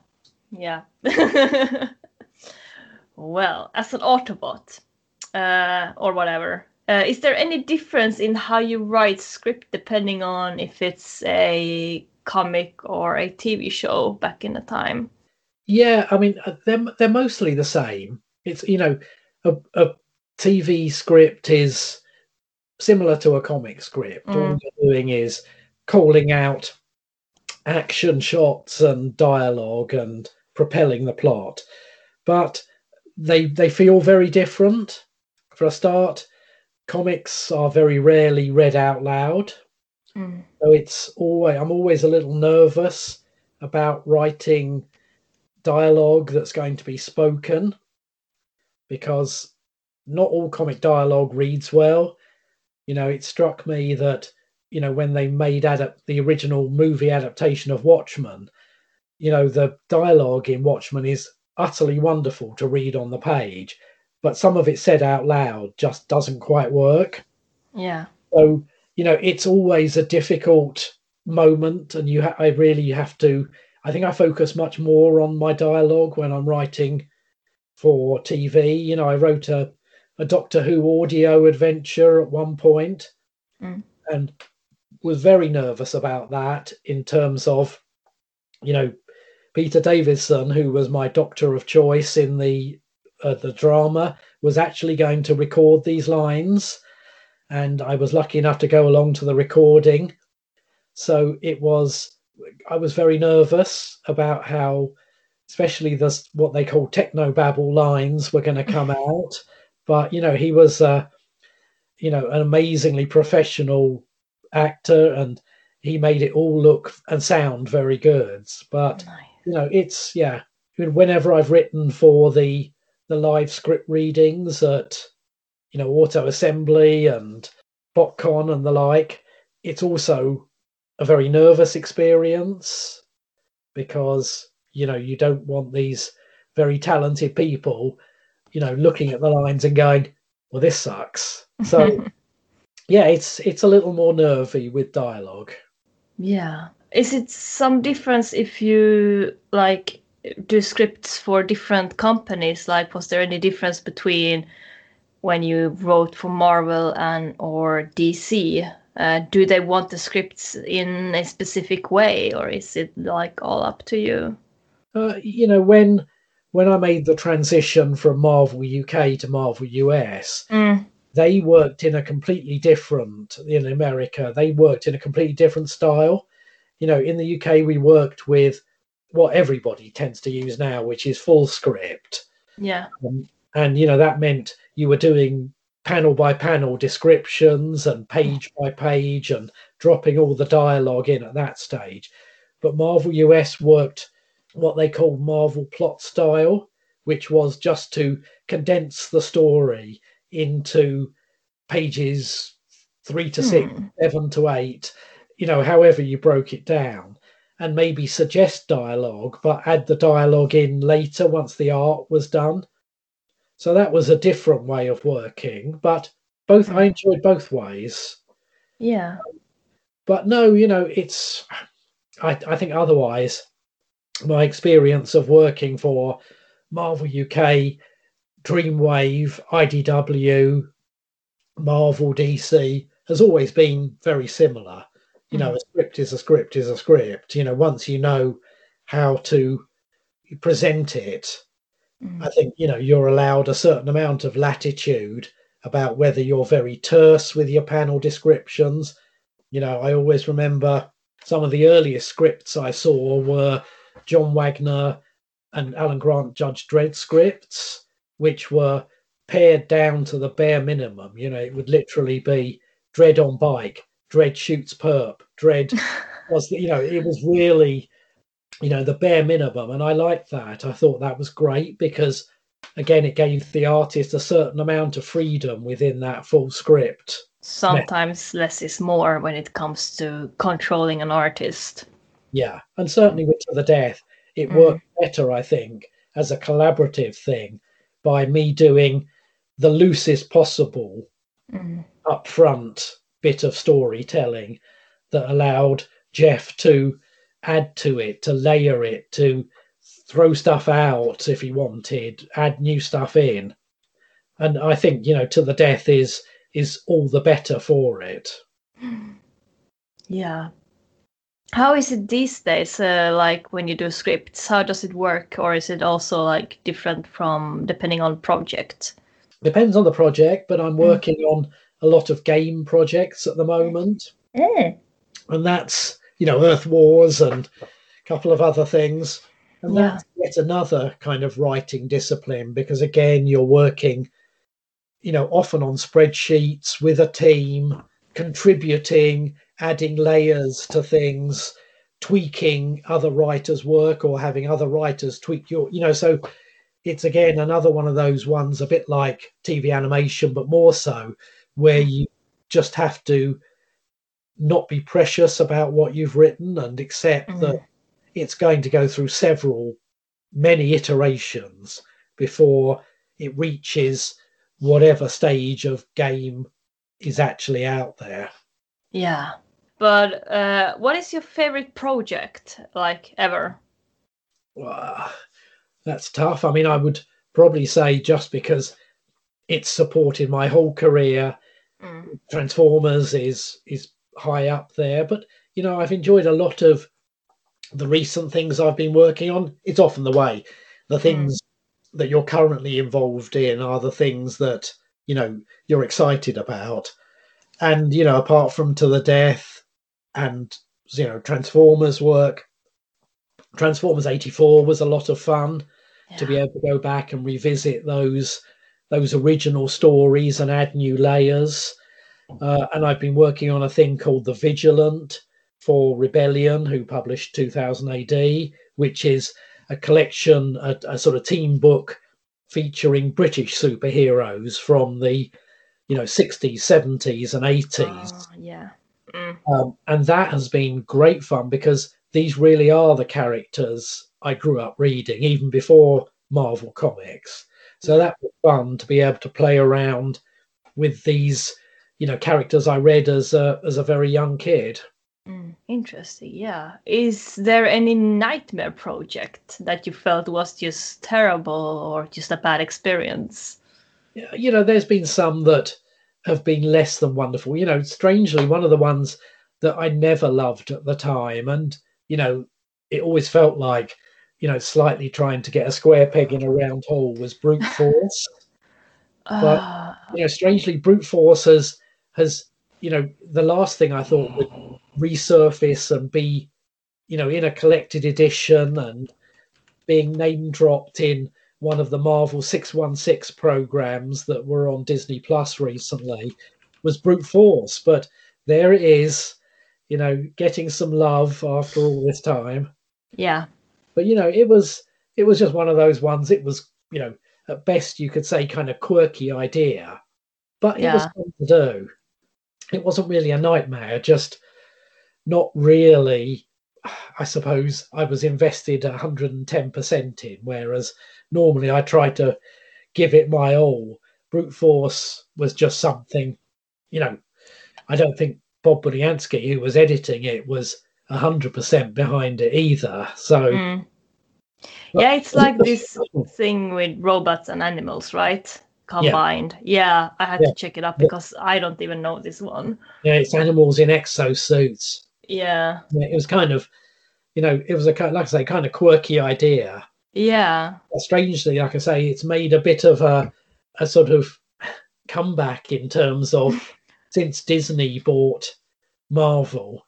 Speaker 3: Well, as an Autobot, or whatever, is there any difference in how you write script depending on if it's a comic or a TV show back in the time?
Speaker 1: Yeah, I mean, they're mostly the same. It's, a TV script is similar to a comic script. All you're doing is calling out action shots and dialogue and propelling the plot. But they feel very different. For a start, comics are very rarely read out loud. So I'm always a little nervous about writing dialogue that's going to be spoken, because not all comic dialogue reads well. It struck me that, when they made the original movie adaptation of Watchmen, the dialogue in Watchmen is utterly wonderful to read on the page, but some of it said out loud just doesn't quite work.
Speaker 3: Yeah.
Speaker 1: So, it's always a difficult moment, and I really have to. I think I focus much more on my dialogue when I'm writing for TV. I wrote a Doctor Who audio adventure at one point, and was very nervous about that in terms of, Peter Davison, who was my doctor of choice in the drama, was actually going to record these lines, and I was lucky enough to go along to the recording. So I was very nervous about how, especially what they call technobabble lines were going to come out. But, he was, an amazingly professional actor, and he made it all look and sound very good. But, nice. Whenever I've written for the live script readings at, Auto Assembly and BotCon and the like, it's also a very nervous experience, because you don't want these very talented people looking at the lines and going, well, this sucks. So yeah, it's a little more nervy with dialogue.
Speaker 3: Yeah. Is it some difference if you do scripts for different companies? Like, was there any difference between when you wrote for Marvel or DC? Do they want the scripts in a specific way, or is it all up to you?
Speaker 1: When I made the transition from Marvel UK to Marvel US, they worked in a completely different, in America, they worked in a completely different style. In the UK, we worked with what everybody tends to use now, which is full script.
Speaker 3: Yeah.
Speaker 1: And that meant you were doing panel by panel descriptions and page by page and dropping all the dialogue in at that stage. But Marvel US worked what they called Marvel plot style, which was just to condense the story into pages 3 to 6, 7 to 8, however you broke it down, and maybe suggest dialogue, but add the dialogue in later once the art was done. So that was a different way of working, but I enjoyed both ways.
Speaker 3: Yeah.
Speaker 1: But no, I think otherwise, my experience of working for Marvel UK, Dreamwave, IDW, Marvel, DC has always been very similar. A script is a script is a script. Once you know how to present it, I think, you're allowed a certain amount of latitude about whether you're very terse with your panel descriptions. I always remember some of the earliest scripts I saw were John Wagner and Alan Grant Judge Dredd scripts, which were pared down to the bare minimum. It would literally be Dredd on bike, Dredd shoots perp, Dredd was, it was really, the bare minimum. And I liked that. I thought that was great because, again, it gave the artist a certain amount of freedom within that full script.
Speaker 3: Sometimes less is more when it comes to controlling an artist.
Speaker 1: Yeah, and certainly with To the Death, it worked better, I think, as a collaborative thing by me doing the loosest possible upfront bit of storytelling that allowed Jeff to add to it, to layer it, to throw stuff out if he wanted, add new stuff in. And I think, To the Death is all the better for it.
Speaker 3: Yeah. How is it these days? Like when you do scripts, how does it work? Or is it also like different from depending on project?
Speaker 1: Depends on the project, but I'm working on a lot of game projects at the moment. And that's, Earth Wars and a couple of other things. And that's yet another kind of writing discipline, because again, you're working, often on spreadsheets with a team, contributing, adding layers to things, tweaking other writers' work or having other writers tweak your, so it's again another one of those ones, a bit like TV animation, but more so, where you just have to not be precious about what you've written and accept that it's going to go through many iterations before it reaches whatever stage of game is actually out there.
Speaker 3: Yeah. But what is your favorite project, like, ever?
Speaker 1: That's tough. I mean, I would probably say, just because it's supported my whole career, Transformers is high up there. But, I've enjoyed a lot of the recent things I've been working on. It's often the way. The things that you're currently involved in are the things that, you're excited about. And, apart from To the Death and, Transformers work, Transformers 84 was a lot of fun to be able to go back and revisit those original stories and add new layers. And I've been working on a thing called The Vigilant for Rebellion, who published 2000 AD, which is a collection, a sort of team book featuring British superheroes from the 60s, 70s and 80s. And that has been great fun, because these really are the characters I grew up reading, even before Marvel Comics. So that was fun to be able to play around with these, characters I read as a very young kid.
Speaker 3: Interesting. Yeah. Is there any nightmare project that you felt was just terrible or just a bad experience?
Speaker 1: There's been some that have been less than wonderful. Strangely, one of the ones that I never loved at the time, and it always felt like slightly trying to get a square peg in a round hole, was Brute Force. But strangely, Brute Force has the last thing I thought would resurface and be in a collected edition and being name dropped in one of the Marvel 616 programs that were on Disney Plus recently, was Brute Force. But there it is, getting some love after all this time.
Speaker 3: Yeah.
Speaker 1: But it was just one of those ones. It was, at best you could say kind of quirky idea, but it was fun to do. It wasn't really a nightmare, just not really. I suppose I was invested 110% in, whereas normally I try to give it my all. Brute Force was just something, I don't think Bob Budiansky, who was editing it, was 100% behind it either. So
Speaker 3: yeah, it's like this thing with robots and animals, right? Combined. Yeah, I had to check it up because I don't even know this one.
Speaker 1: Yeah, it's animals in exosuits.
Speaker 3: Yeah.
Speaker 1: It was kind of, it was like I say, kind of quirky idea.
Speaker 3: Yeah.
Speaker 1: But strangely, like I say, it's made a bit of a sort of comeback in terms of since Disney bought Marvel.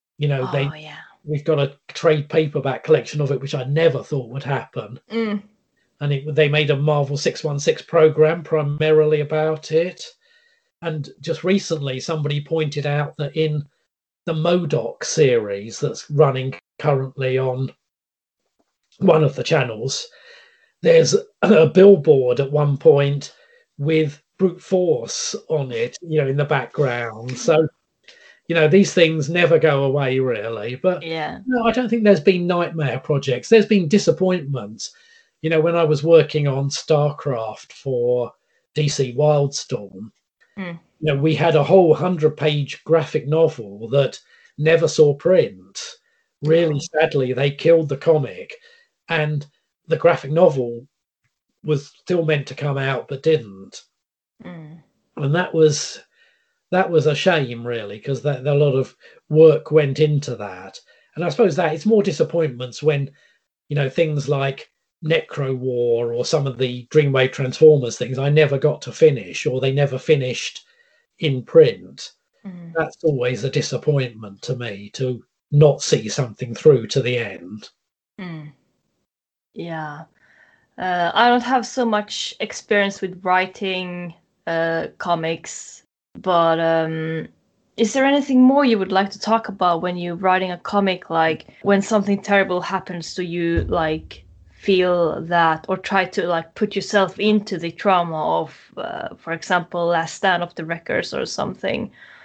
Speaker 1: We've got a trade paperback collection of it, which I never thought would happen. And they made a Marvel 616 program primarily about it. And just recently, somebody pointed out that in the MODOK series that's running currently on one of the channels, there's a billboard at one point with Brute Force on it, in the background. So, these things never go away, really. But no, I don't think there's been nightmare projects. There's been disappointments. when I was working on StarCraft for DC Wildstorm, we had a whole 100-page graphic novel that never saw print. Really sadly, they killed the comic, and the graphic novel was still meant to come out but didn't. And that was a shame, really, because a lot of work went into that. And I suppose that it's more disappointments when things like Necro War or some of the Dreamwave Transformers things I never got to finish, or they never finished in print. That's always a disappointment to me, to not see something through to the end.
Speaker 3: Yeah. I don't have so much experience with writing comics, but is there anything more you would like to talk about when you're writing a comic, like when something terrible happens to you, like feel that, or try to like put yourself into the trauma of, for example, Last Stand of the Wreckers or something?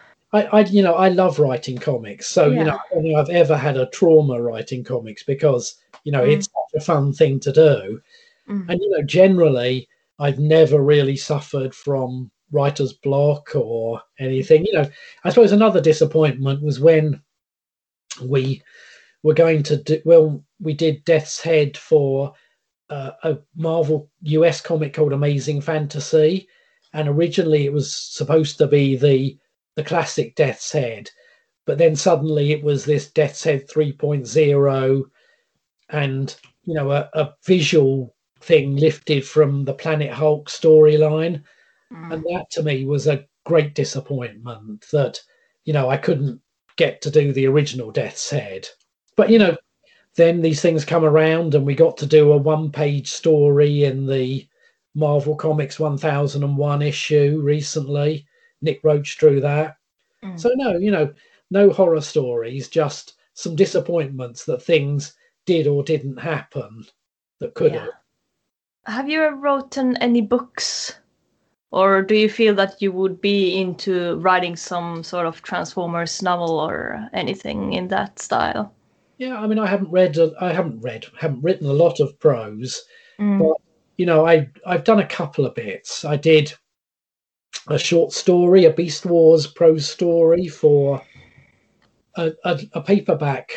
Speaker 1: I love writing comics, so I don't think I've ever had a trauma writing comics, because it's such a fun thing to do. And generally I've never really suffered from writer's block or anything. I suppose another disappointment was when we were going to do, we did Death's Head for a Marvel US comic called Amazing Fantasy, and originally it was supposed to be the classic Death's Head, but then suddenly it was this Death's Head 3.0, and a visual thing lifted from the Planet Hulk storyline. And that to me was a great disappointment, that I couldn't get to do the original Death's Head. But then these things come around, and we got to do a 1-page story in the Marvel Comics 1001 issue recently. Nick Roach drew that. So no horror stories, just some disappointments that things did or didn't happen that could have.
Speaker 3: Have you ever written any books, or do you feel that you would be into writing some sort of Transformers novel or anything in that style?
Speaker 1: Yeah, I mean, I haven't written a lot of prose, but I've done a couple of bits. I did a short story, a Beast Wars prose story, for a paperback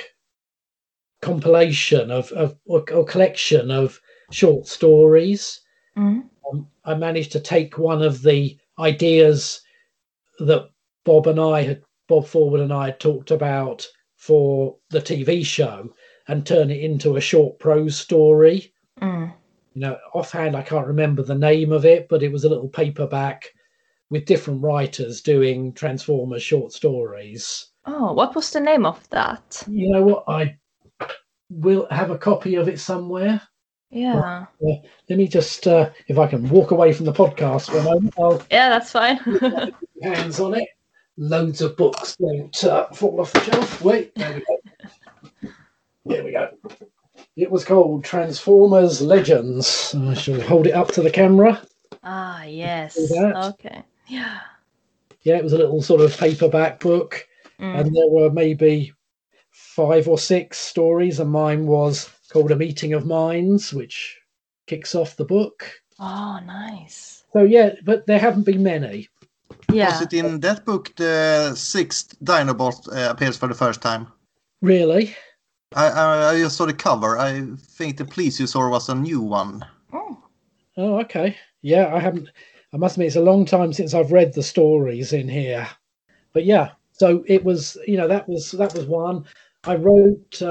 Speaker 1: compilation of or collection of short stories. I managed to take one of the ideas that Bob Forward and I had talked about for the TV show and turn it into a short prose story. Offhand, I can't remember the name of it, but it was a little paperback with different writers doing Transformers short stories.
Speaker 3: Oh, what was the name of that?
Speaker 1: You know what? I will have a copy of it somewhere.
Speaker 3: Yeah.
Speaker 1: Let me just, if I can walk away from the podcast for a moment.
Speaker 3: Yeah, that's fine.
Speaker 1: Hands on it. Loads of books don't fall off the shelf. Wait, there we go. Here we go. It was called Transformers Legends. I shall hold it up to the camera.
Speaker 3: Ah, yes. Okay. Yeah.
Speaker 1: Yeah, it was a little sort of paperback book, and there were maybe 5 or 6 stories, and mine was called A Meeting of Minds, which kicks off the book.
Speaker 3: Oh, nice.
Speaker 1: So yeah, but there haven't been many.
Speaker 3: Yeah.
Speaker 2: Was it in that book the 6th Dinobot appears for the first time?
Speaker 1: Really?
Speaker 2: I just saw the cover. I think the Please You Saw was a new one.
Speaker 1: Oh, okay. Yeah, I haven't. I must admit, it's a long time since I've read the stories in here. But yeah, so it was. That was one. I wrote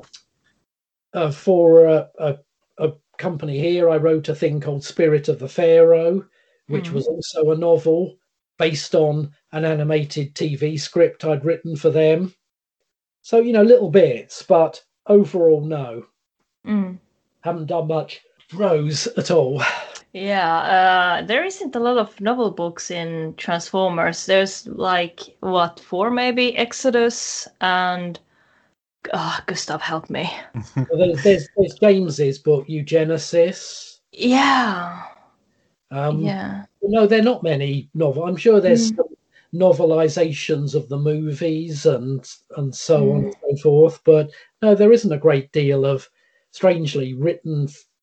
Speaker 1: for a company here. I wrote a thing called Spirit of the Pharaoh, which was also a novel based on an animated TV script I'd written for them. So little bits, but overall, no. Haven't done much prose at all.
Speaker 3: Yeah, there isn't a lot of novel books in Transformers. There's 4 maybe? Exodus and Gustav, help me.
Speaker 1: Well, there's James's book, Eugenesis.
Speaker 3: Yeah.
Speaker 1: No, there are not many novels. I'm sure there's some novelizations of the movies and so on and so forth, but no, there isn't a great deal of strangely written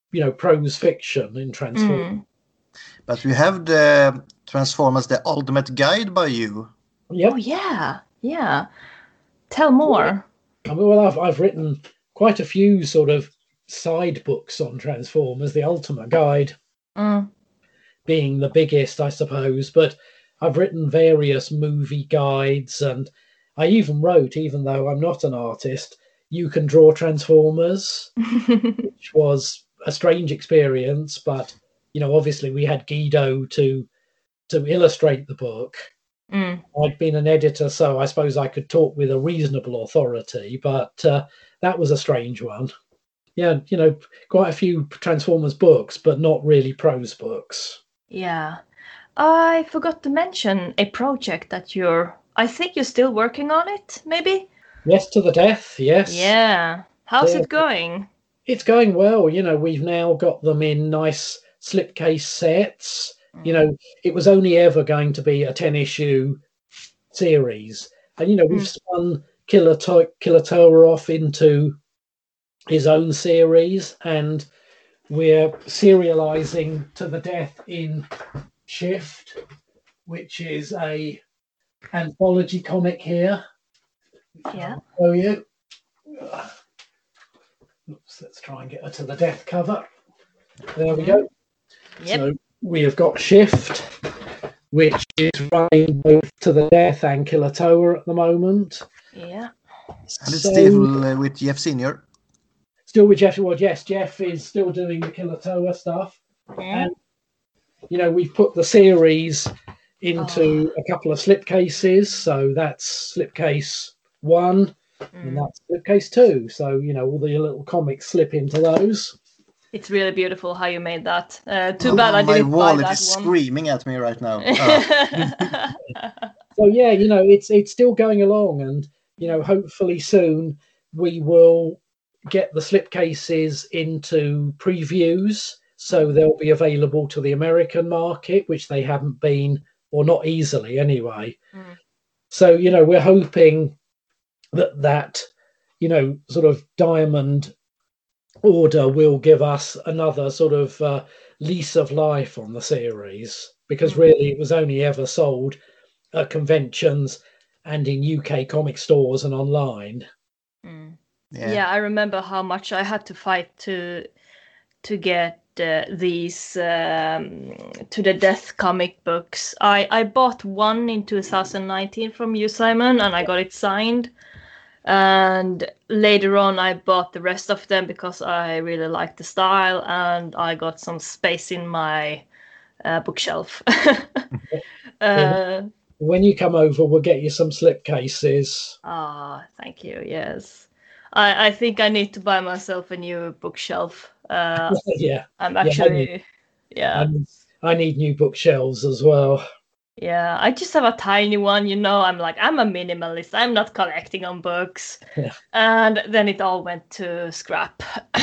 Speaker 1: prose fiction in Transformers.
Speaker 2: But we have the Transformers, the Ultimate Guide by you.
Speaker 1: Yep.
Speaker 3: Oh yeah. Tell more.
Speaker 1: Well, I've written quite a few sort of side books on Transformers, the Ultimate Guide being the biggest, I suppose. But I've written various movie guides, and I even wrote, even though I'm not an artist, You Can Draw Transformers, which was a strange experience. But obviously we had Guido to illustrate the book. I'd been an editor, so I suppose I could talk with a reasonable authority, but that was a strange one. Yeah, quite a few Transformers books, but not really prose books.
Speaker 3: Yeah. I forgot to mention a project that I think you're still working on it, maybe?
Speaker 1: Yes to the Death, yes.
Speaker 3: Yeah. How's it going?
Speaker 1: It's going well. We've now got them in nice slipcase sets. It was only ever going to be a 10-issue series. And, we've spun Killer Tower off into his own series, and we're serializing To the Death in Shift, which is a anthology comic here.
Speaker 3: Yeah.
Speaker 1: I'll show you. Oops, let's try and get her To the Death cover. There we go.
Speaker 3: Yep.
Speaker 1: So we have got Shift, which is running both To the Death and Killer Tower at the moment.
Speaker 3: Yeah.
Speaker 2: And it's still with Jeff Senior.
Speaker 1: Still with Jeff. Well, yes, Jeff is still doing the Killer Tower stuff. And, we've put the series into a couple of slipcases. So that's slipcase 1 and that's slipcase 2. So, all the little comics slip into those.
Speaker 3: It's really beautiful how you made that. Too bad I didn't buy that one.
Speaker 2: My wallet is screaming at me right now.
Speaker 1: So yeah, it's still going along, and hopefully soon we will get the slipcases into previews, so they'll be available to the American market, which they haven't been, or not easily anyway. So we're hoping that sort of Diamond order will give us another sort of lease of life on the series, because really it was only ever sold at conventions and in UK comic stores and online.
Speaker 3: Yeah, I remember how much I had to fight to get these To the Death comic books. I bought one in 2019 from you, Simon, and I got it signed. And later on, I bought the rest of them because I really liked the style, and I got some space in my bookshelf.
Speaker 1: When you come over, we'll get you some slipcases.
Speaker 3: Thank you. Yes, I think I need to buy myself a new bookshelf.
Speaker 1: Yeah,
Speaker 3: I'm actually.
Speaker 1: I need new bookshelves as well.
Speaker 3: Yeah, I just have a tiny one, I'm a minimalist. I'm not collecting on books.
Speaker 1: Yeah.
Speaker 3: And then it all went to scrap.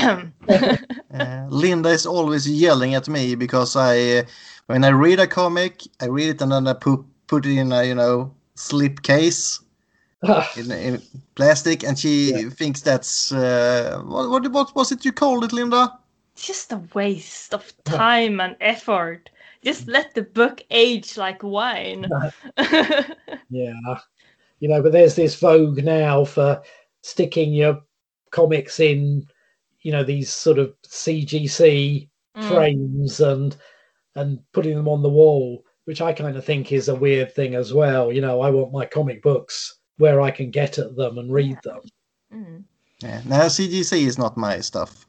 Speaker 2: Linda is always yelling at me because when I read a comic, I read it and then I put it in a slipcase in plastic, and she thinks that's what was it you called it, Linda?
Speaker 3: Just a waste of time and effort. Just let the book age like wine.
Speaker 1: Yeah. But there's this vogue now for sticking your comics in, these sort of CGC frames and putting them on the wall, which I kind of think is a weird thing as well. I want my comic books where I can get at them and read them.
Speaker 2: Yeah. Now, CGC is not my stuff.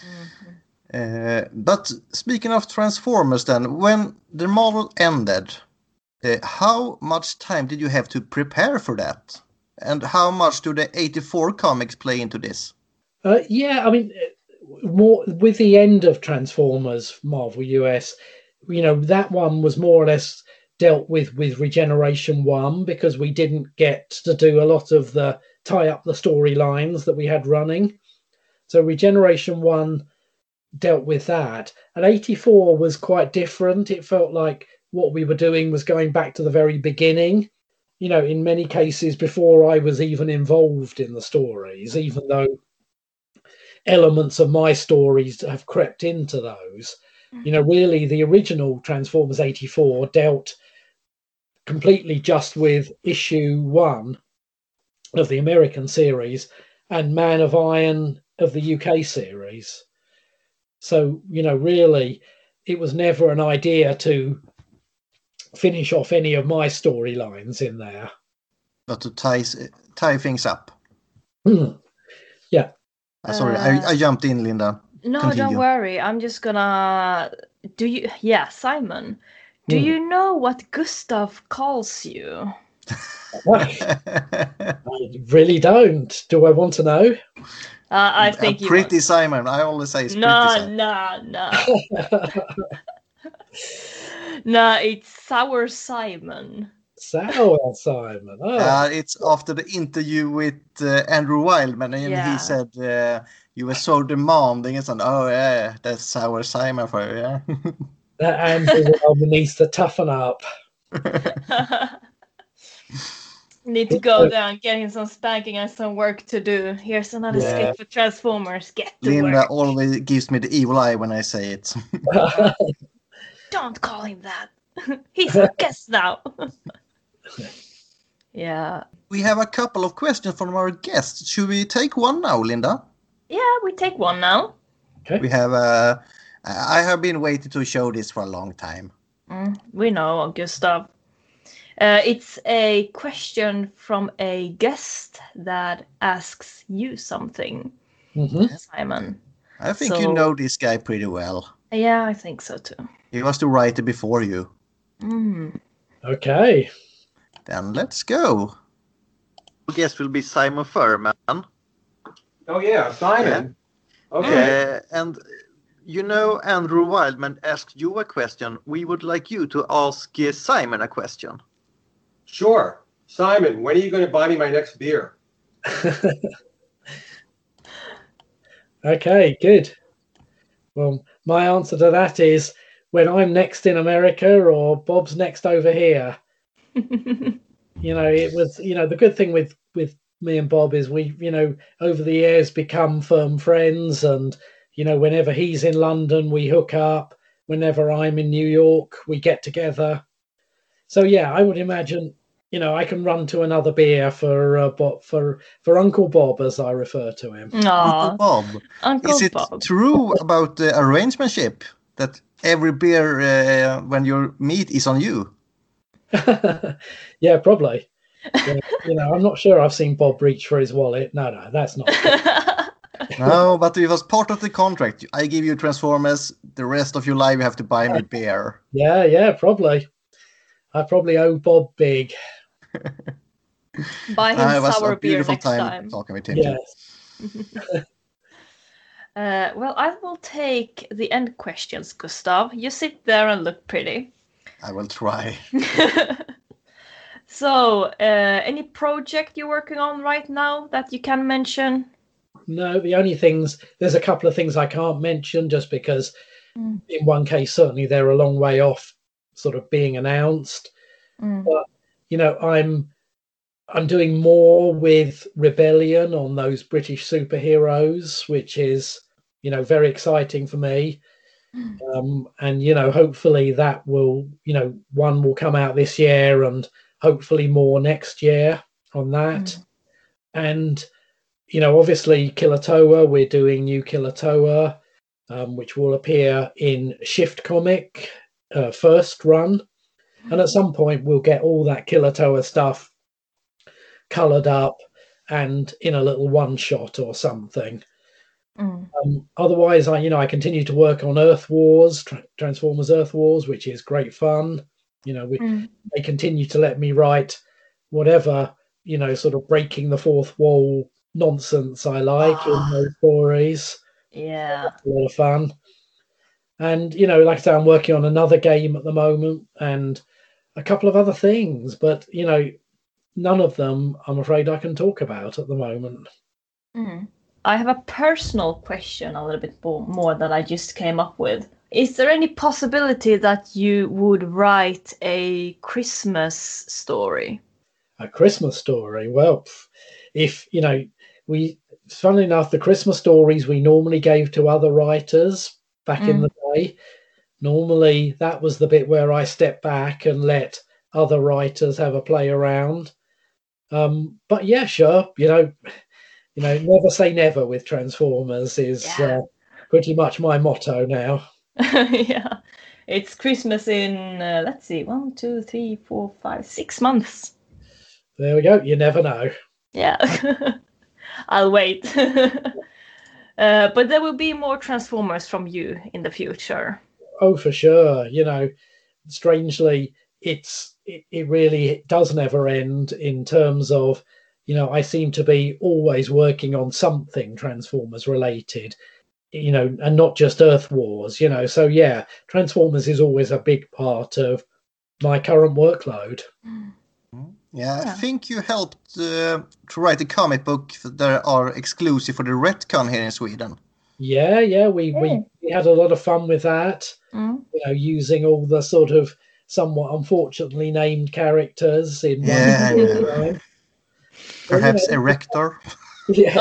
Speaker 2: But speaking of Transformers then, when the model ended, how much time did you have to prepare for that? And how much do the 84 comics play into this?
Speaker 1: More with the end of Transformers Marvel US, that one was more or less dealt with Regeneration 1, because we didn't get to do a lot of the tie up the storylines that we had running. So Regeneration 1 dealt with that, and 84 was quite different. It felt like what we were doing was going back to the very beginning, in many cases before I was even involved in the stories, even though elements of my stories have crept into those. You know, really, the original Transformers 84 dealt completely just with issue 1 of the American series and Man of Iron of the UK series. So, you know, really, it was never an idea to finish off any of my storylines in there.
Speaker 2: But to tie things up.
Speaker 1: Yeah.
Speaker 2: Sorry, I jumped in, Linda.
Speaker 3: No,
Speaker 2: Continue.
Speaker 3: don't worry. I'm just gonna. Simon, do you know what Gustav calls you?
Speaker 1: I really don't. Do I want to know?
Speaker 3: I think you
Speaker 2: Pretty
Speaker 3: want.
Speaker 2: Simon. I always say it's Pretty Simon.
Speaker 3: No. No, it's Sour Simon.
Speaker 1: Sour Simon. Oh.
Speaker 2: It's after the interview with Andrew Wildman, and he said you were so demanding, and said, "Oh yeah, that's Sour Simon for you." Yeah.
Speaker 1: That Andrew Wildman needs to toughen up.
Speaker 3: Need to go there and get him some spanking and some work to do. Here's another script for Transformers. Get to
Speaker 2: Linda
Speaker 3: work.
Speaker 2: always gives me the evil eye when I say it.
Speaker 3: Don't call him that. He's a guest now. Yeah.
Speaker 2: We have a couple of questions from our guests. Should we take one now, Linda?
Speaker 3: Yeah, we take one now.
Speaker 1: Okay.
Speaker 2: We have I have been waiting to show this for a long time.
Speaker 3: We know, Gustav. It's a question from a guest that asks you something, Simon.
Speaker 2: I think you know this guy pretty well.
Speaker 3: Yeah, I think so too.
Speaker 2: He was the writer before you.
Speaker 1: Okay.
Speaker 2: Then let's go. Our guest will be Simon Furman.
Speaker 4: Oh yeah, Simon. Yeah. Okay.
Speaker 2: And you know, Andrew Wildman asked you a question. We would like you to ask Simon a question.
Speaker 4: Sure. Simon, when are you going to buy me my next beer?
Speaker 1: Okay, good. Well, my answer to that is when I'm next in America or Bob's next over here. You know, it was, you know, the good thing with me and Bob is we, you know, over the years become firm friends, and, you know, whenever he's in London, we hook up. Whenever I'm in New York, we get together. So yeah, I would imagine, you know, I can run to another beer for Uncle Bob, as I refer to him.
Speaker 3: Aww.
Speaker 2: Uncle Bob.
Speaker 3: Uncle
Speaker 2: Is it
Speaker 3: Bob.
Speaker 2: true about the arrangementship that every beer when you meet is on you?
Speaker 1: Yeah, probably. Yeah, you know, I'm not sure I've seen Bob reach for his wallet. No, that's not true.
Speaker 2: No, but it was part of the contract. I give you Transformers. The rest of your life, you have to buy me beer.
Speaker 1: Yeah, probably. I probably owe Bob big.
Speaker 3: Buy him sour beer
Speaker 2: beautiful
Speaker 3: next
Speaker 2: time
Speaker 3: time.
Speaker 2: talking with him.
Speaker 1: Yes.
Speaker 3: Well, I will take the end questions, Gustav. You sit there and look pretty.
Speaker 2: I will try.
Speaker 3: So, any project you're working on right now that you can mention?
Speaker 1: No, the only things, there's a couple of things I can't mention just because in one case, certainly they're a long way off sort of being announced. But, you know, I'm doing more with Rebellion on those British superheroes, which is, you know, very exciting for me. And, you know, hopefully that will, you know, one will come out this year and hopefully more next year on that. And, you know, obviously Killer Toa, we're doing new Killer Toa, which will appear in Shift Comic first run. And at some point we'll get all that Killer Toa stuff coloured up and in a little one shot or something. Otherwise, I continue to work on Earth Wars, Transformers Earth Wars, which is great fun. You know, they continue to let me write whatever, you know, sort of breaking the fourth wall nonsense I like in those stories.
Speaker 3: Yeah.
Speaker 1: That's a lot of fun. And, you know, like I say, I'm working on another game at the moment and a couple of other things, but, you know, none of them I'm afraid I can talk about at the moment.
Speaker 3: I have a personal question a little bit more that I just came up with. Is there any possibility that you would write a Christmas story?
Speaker 1: A Christmas story? Well, if, you know, funnily enough, the Christmas stories we normally gave to other writers back in the day. Normally, that was the bit where I stepped back and let other writers have a play around. But yeah, sure, never say never with Transformers is pretty much my motto now.
Speaker 3: Yeah, it's Christmas in let's see, 1, 2, 3, 4, 5, 6 months.
Speaker 1: There we go. You never know.
Speaker 3: Yeah, I'll wait. But there will be more Transformers from you in the future.
Speaker 1: Oh, for sure. Strangely, it really does never end in terms of, I seem to be always working on something Transformers related, and not just Earth Wars, So yeah, Transformers is always a big part of my current workload.
Speaker 2: Yeah, I think you helped to write a comic book that are exclusive for the Retcon here in Sweden.
Speaker 1: Yeah, we had a lot of fun with that. Using all the sort of somewhat unfortunately named characters in one line.
Speaker 2: Perhaps Erector.
Speaker 1: Yeah.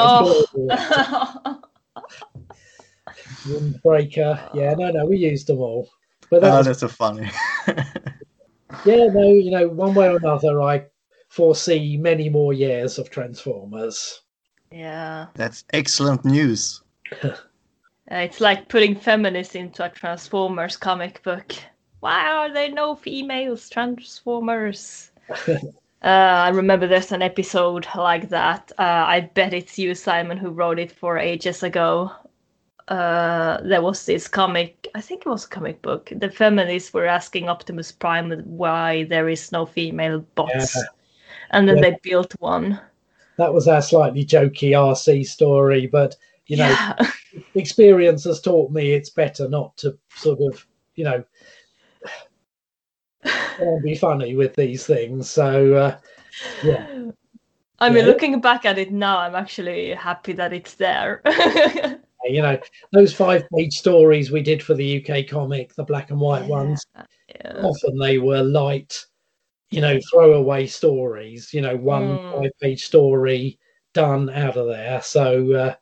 Speaker 1: Windbreaker. Yeah, no, we used them all. But
Speaker 2: that's so funny.
Speaker 1: Yeah, no, one way or another, I foresee many more years of Transformers.
Speaker 3: Yeah.
Speaker 2: That's excellent news.
Speaker 3: It's like putting feminists into a Transformers comic book. Why are there no females Transformers? I remember there's an episode like that. I bet it's you, Simon, who wrote it for ages ago. There was this comic, I think it was a comic book. The feminists were asking Optimus Prime why there is no female bots. Yeah. And then they built one.
Speaker 1: That was our slightly jokey RC story, but, experience has taught me it's better not to sort of, be funny with these things. So, yeah.
Speaker 3: I mean, looking back at it now, I'm actually happy that it's there.
Speaker 1: Those 5-page stories we did for the UK comic, the black and white ones, often they were light, throwaway stories, one 5-page story done out of there. So,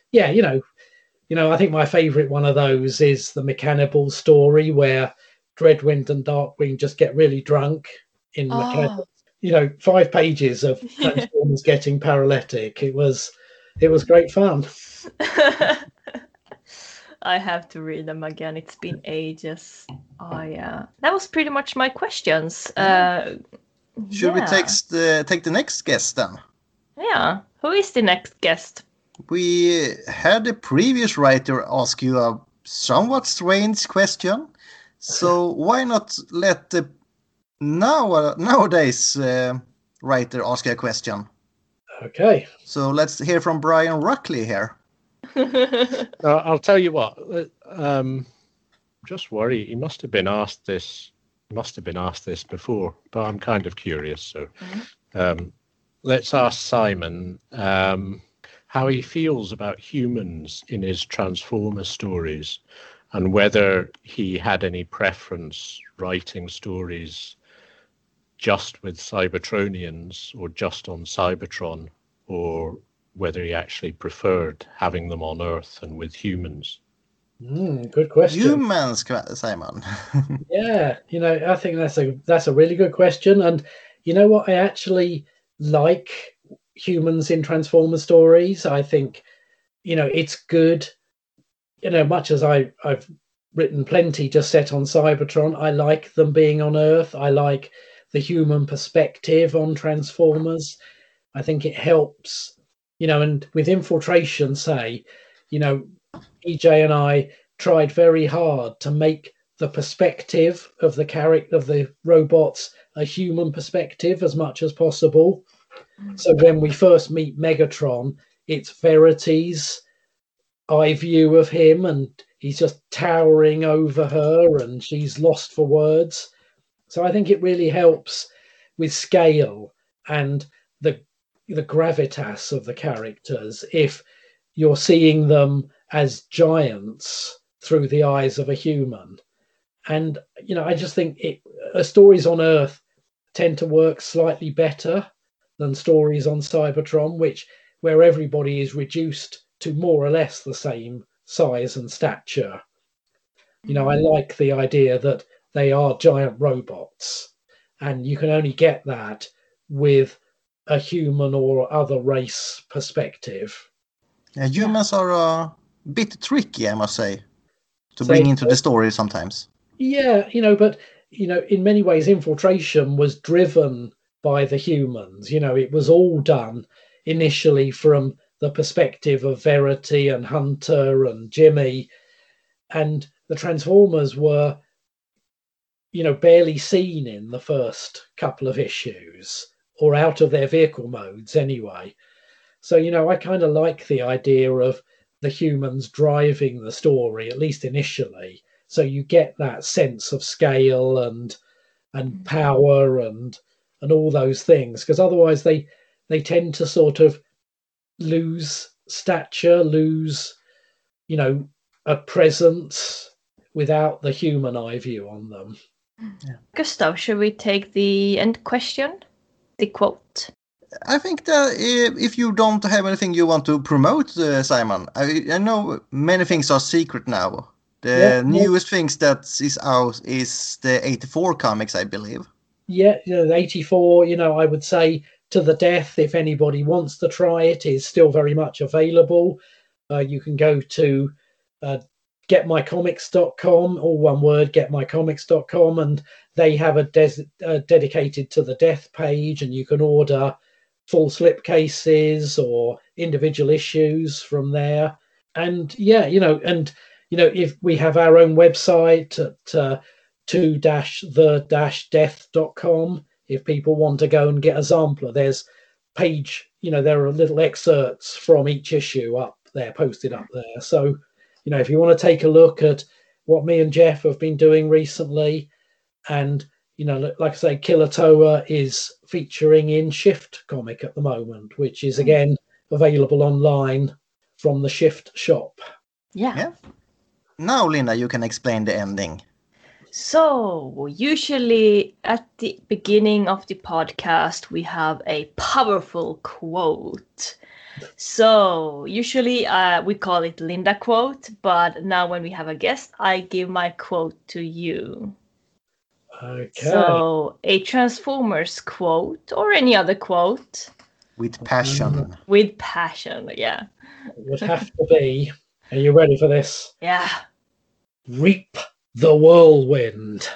Speaker 1: I think my favourite one of those is the Mechanical story where Dreadwind and Darkwing just get really drunk in Mechanical. 5 pages of Transformers getting paralytic. It was great fun.
Speaker 3: I have to read them again. It's been ages. That was pretty much my questions.
Speaker 2: Should we take the next guest then?
Speaker 3: Yeah. Who is the next guest?
Speaker 2: We had a previous writer ask you a somewhat strange question. So why not let the nowadays writer ask a question?
Speaker 1: Okay.
Speaker 2: So let's hear from Brian Ruckley here.
Speaker 5: I'll tell you what. Just worry. He must have been asked this. Before, but I'm kind of curious. So, let's ask Simon how he feels about humans in his Transformers stories, and whether he had any preference writing stories just with Cybertronians or just on Cybertron, or whether he actually preferred having them on Earth and with humans.
Speaker 1: Good question.
Speaker 2: Humans, Simon.
Speaker 1: Yeah, I think that's a really good question. And you know what? I actually like humans in Transformer stories. I think, it's good. Much as I've written plenty just set on Cybertron, I like them being on Earth. I like the human perspective on Transformers. I think it helps. And with Infiltration, say, EJ and I tried very hard to make the perspective of the character of the robots a human perspective as much as possible. So when we first meet Megatron, it's Verity's eye view of him, and he's just towering over her, and she's lost for words. So I think it really helps with scale and the gravitas of the characters if you're seeing them as giants through the eyes of a human. And I just think stories on Earth tend to work slightly better than stories on Cybertron, which where everybody is reduced to more or less the same size and stature. You know, I like the idea that they are giant robots, and you can only get that with a human or other race perspective.
Speaker 2: Humans are a bit tricky, I must say, to
Speaker 1: So-
Speaker 2: bring into the story sometimes.
Speaker 1: Yeah, you know, but you know, in many ways, Infiltration was driven by the humans. You know, it was all done initially from the perspective of Verity and Hunter and Jimmy, and the Transformers were, you know, barely seen in the first couple of issues, or out of their vehicle modes anyway. So, you know, I kind of like the idea of the humans driving the story, at least initially. So you get that sense of scale and power and all those things, because otherwise they tend to sort of lose stature, lose, you know, a presence without the human eye view on them.
Speaker 3: Gustav, should we take the end question? The quote.
Speaker 2: I think that if you don't have anything you want to promote, Simon, I know many things are secret now. The newest things that is out is the 84 comics, I believe.
Speaker 1: Yeah, you know, the 84, you know, I would say To the Death, if anybody wants to try it, is still very much available. You can go to getmycomics.com, all one word, getmycomics.com, and they have a dedicated To the Death page, and you can order full slipcases or individual issues from there. And yeah, you know, if we have our own website at 2-the-death.com, if people want to go and get a sampler, there's page, you know, there are little excerpts from each issue up there, posted up there. So, you know, if you want to take a look at what me and Jeff have been doing recently, and, you know, like I say, Killer Toa is featuring in Shift comic at the moment, which is again available online from the Shift shop.
Speaker 3: Yeah.
Speaker 2: Now, Linda, you can explain the ending.
Speaker 3: So, usually at the beginning of the podcast, we have a powerful quote. So, usually we call it Linda quote, but now when we have a guest, I give my quote to you.
Speaker 1: Okay.
Speaker 3: So, a Transformers quote or any other quote.
Speaker 2: With passion.
Speaker 3: With passion, yeah.
Speaker 1: It would have to be. Are you ready for this?
Speaker 3: Yeah.
Speaker 1: Reap the whirlwind.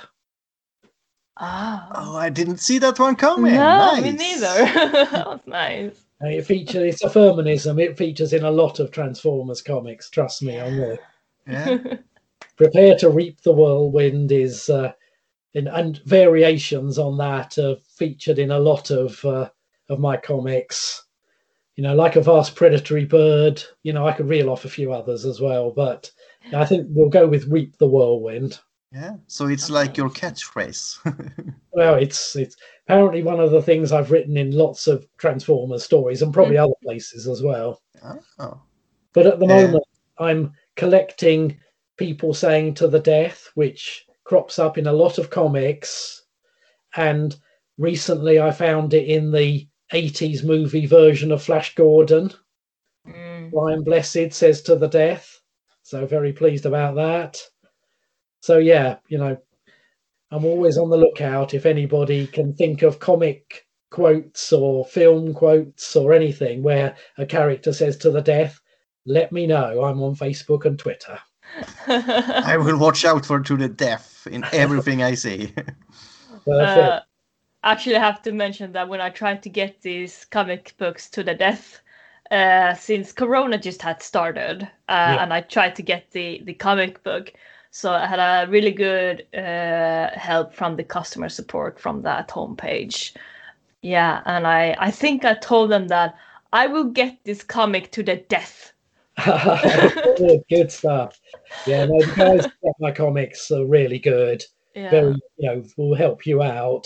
Speaker 2: Oh, I didn't see that one coming.
Speaker 3: No,
Speaker 2: Nice.
Speaker 3: me neither. That was nice.
Speaker 1: It's a feminism. It features in a lot of Transformers comics. Trust me on this.
Speaker 2: Yeah.
Speaker 1: Prepare to reap the whirlwind is, and variations on that are featured in a lot of my comics. You know, like a vast predatory bird. You know, I could reel off a few others as well, but I think we'll go with reap the whirlwind.
Speaker 2: Yeah. So it's like your catchphrase.
Speaker 1: Well, it's apparently one of the things I've written in lots of Transformers stories and probably other places as well.
Speaker 2: Oh.
Speaker 1: But at the moment, I'm collecting people saying To the Death, which crops up in a lot of comics. And recently I found it in the 80s movie version of Flash Gordon. Ryan Blessed says To the Death. So very pleased about that. So yeah, you know, I'm always on the lookout if anybody can think of comic quotes or film quotes or anything where a character says To the Death. Let me know. I'm on Facebook and Twitter.
Speaker 2: I will watch out for To the Death in everything I see.
Speaker 3: Actually, I have to mention that when I tried to get these comic books To the Death, since Corona just had started, and I tried to get the comic book, so I had a really good help from the customer support from that homepage. Yeah, and I think I told them that I will get this comic To the Death.
Speaker 1: Good stuff. Yeah, no, the guys who get my comics are really good.
Speaker 3: Yeah.
Speaker 1: Very, you know, will help you out.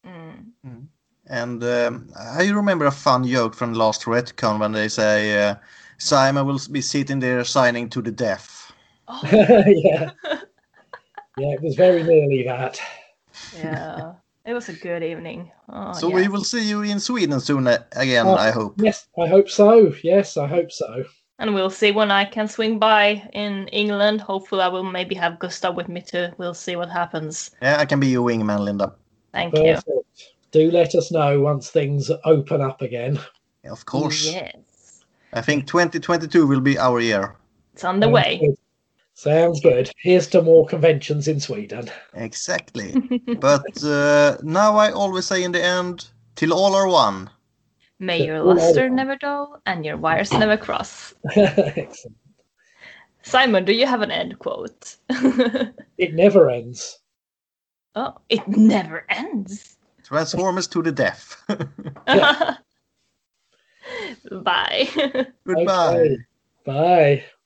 Speaker 2: And I remember a fun joke from last Retcon when they say Simon will be sitting there signing To the Death.
Speaker 1: Yeah. Yeah, it was very nearly that.
Speaker 3: Yeah. It was a good evening. Oh,
Speaker 2: So
Speaker 3: yeah.
Speaker 2: we will see you in Sweden soon again, I hope.
Speaker 1: Yes, I hope so. Yes, I hope so.
Speaker 3: And we'll see when I can swing by in England. Hopefully, I will maybe have Gustav with me too. We'll see what happens.
Speaker 2: Yeah, I can be your wingman, Linda.
Speaker 3: Thank you.
Speaker 1: Perfect. Do let us know once things open up again.
Speaker 2: Yeah, of course.
Speaker 3: Yes.
Speaker 2: I think 2022 will be our year.
Speaker 3: It's on the way.
Speaker 1: Sounds good. Here's to more conventions in Sweden.
Speaker 2: Exactly. But now I always say in the end, till all are one.
Speaker 3: May your luster never dull and your wires never cross.
Speaker 1: Excellent.
Speaker 3: Simon, do you have an end quote?
Speaker 1: It never ends.
Speaker 3: Oh, it never ends.
Speaker 2: Transformers to the death.
Speaker 3: Bye.
Speaker 2: Goodbye.
Speaker 1: Okay. Bye.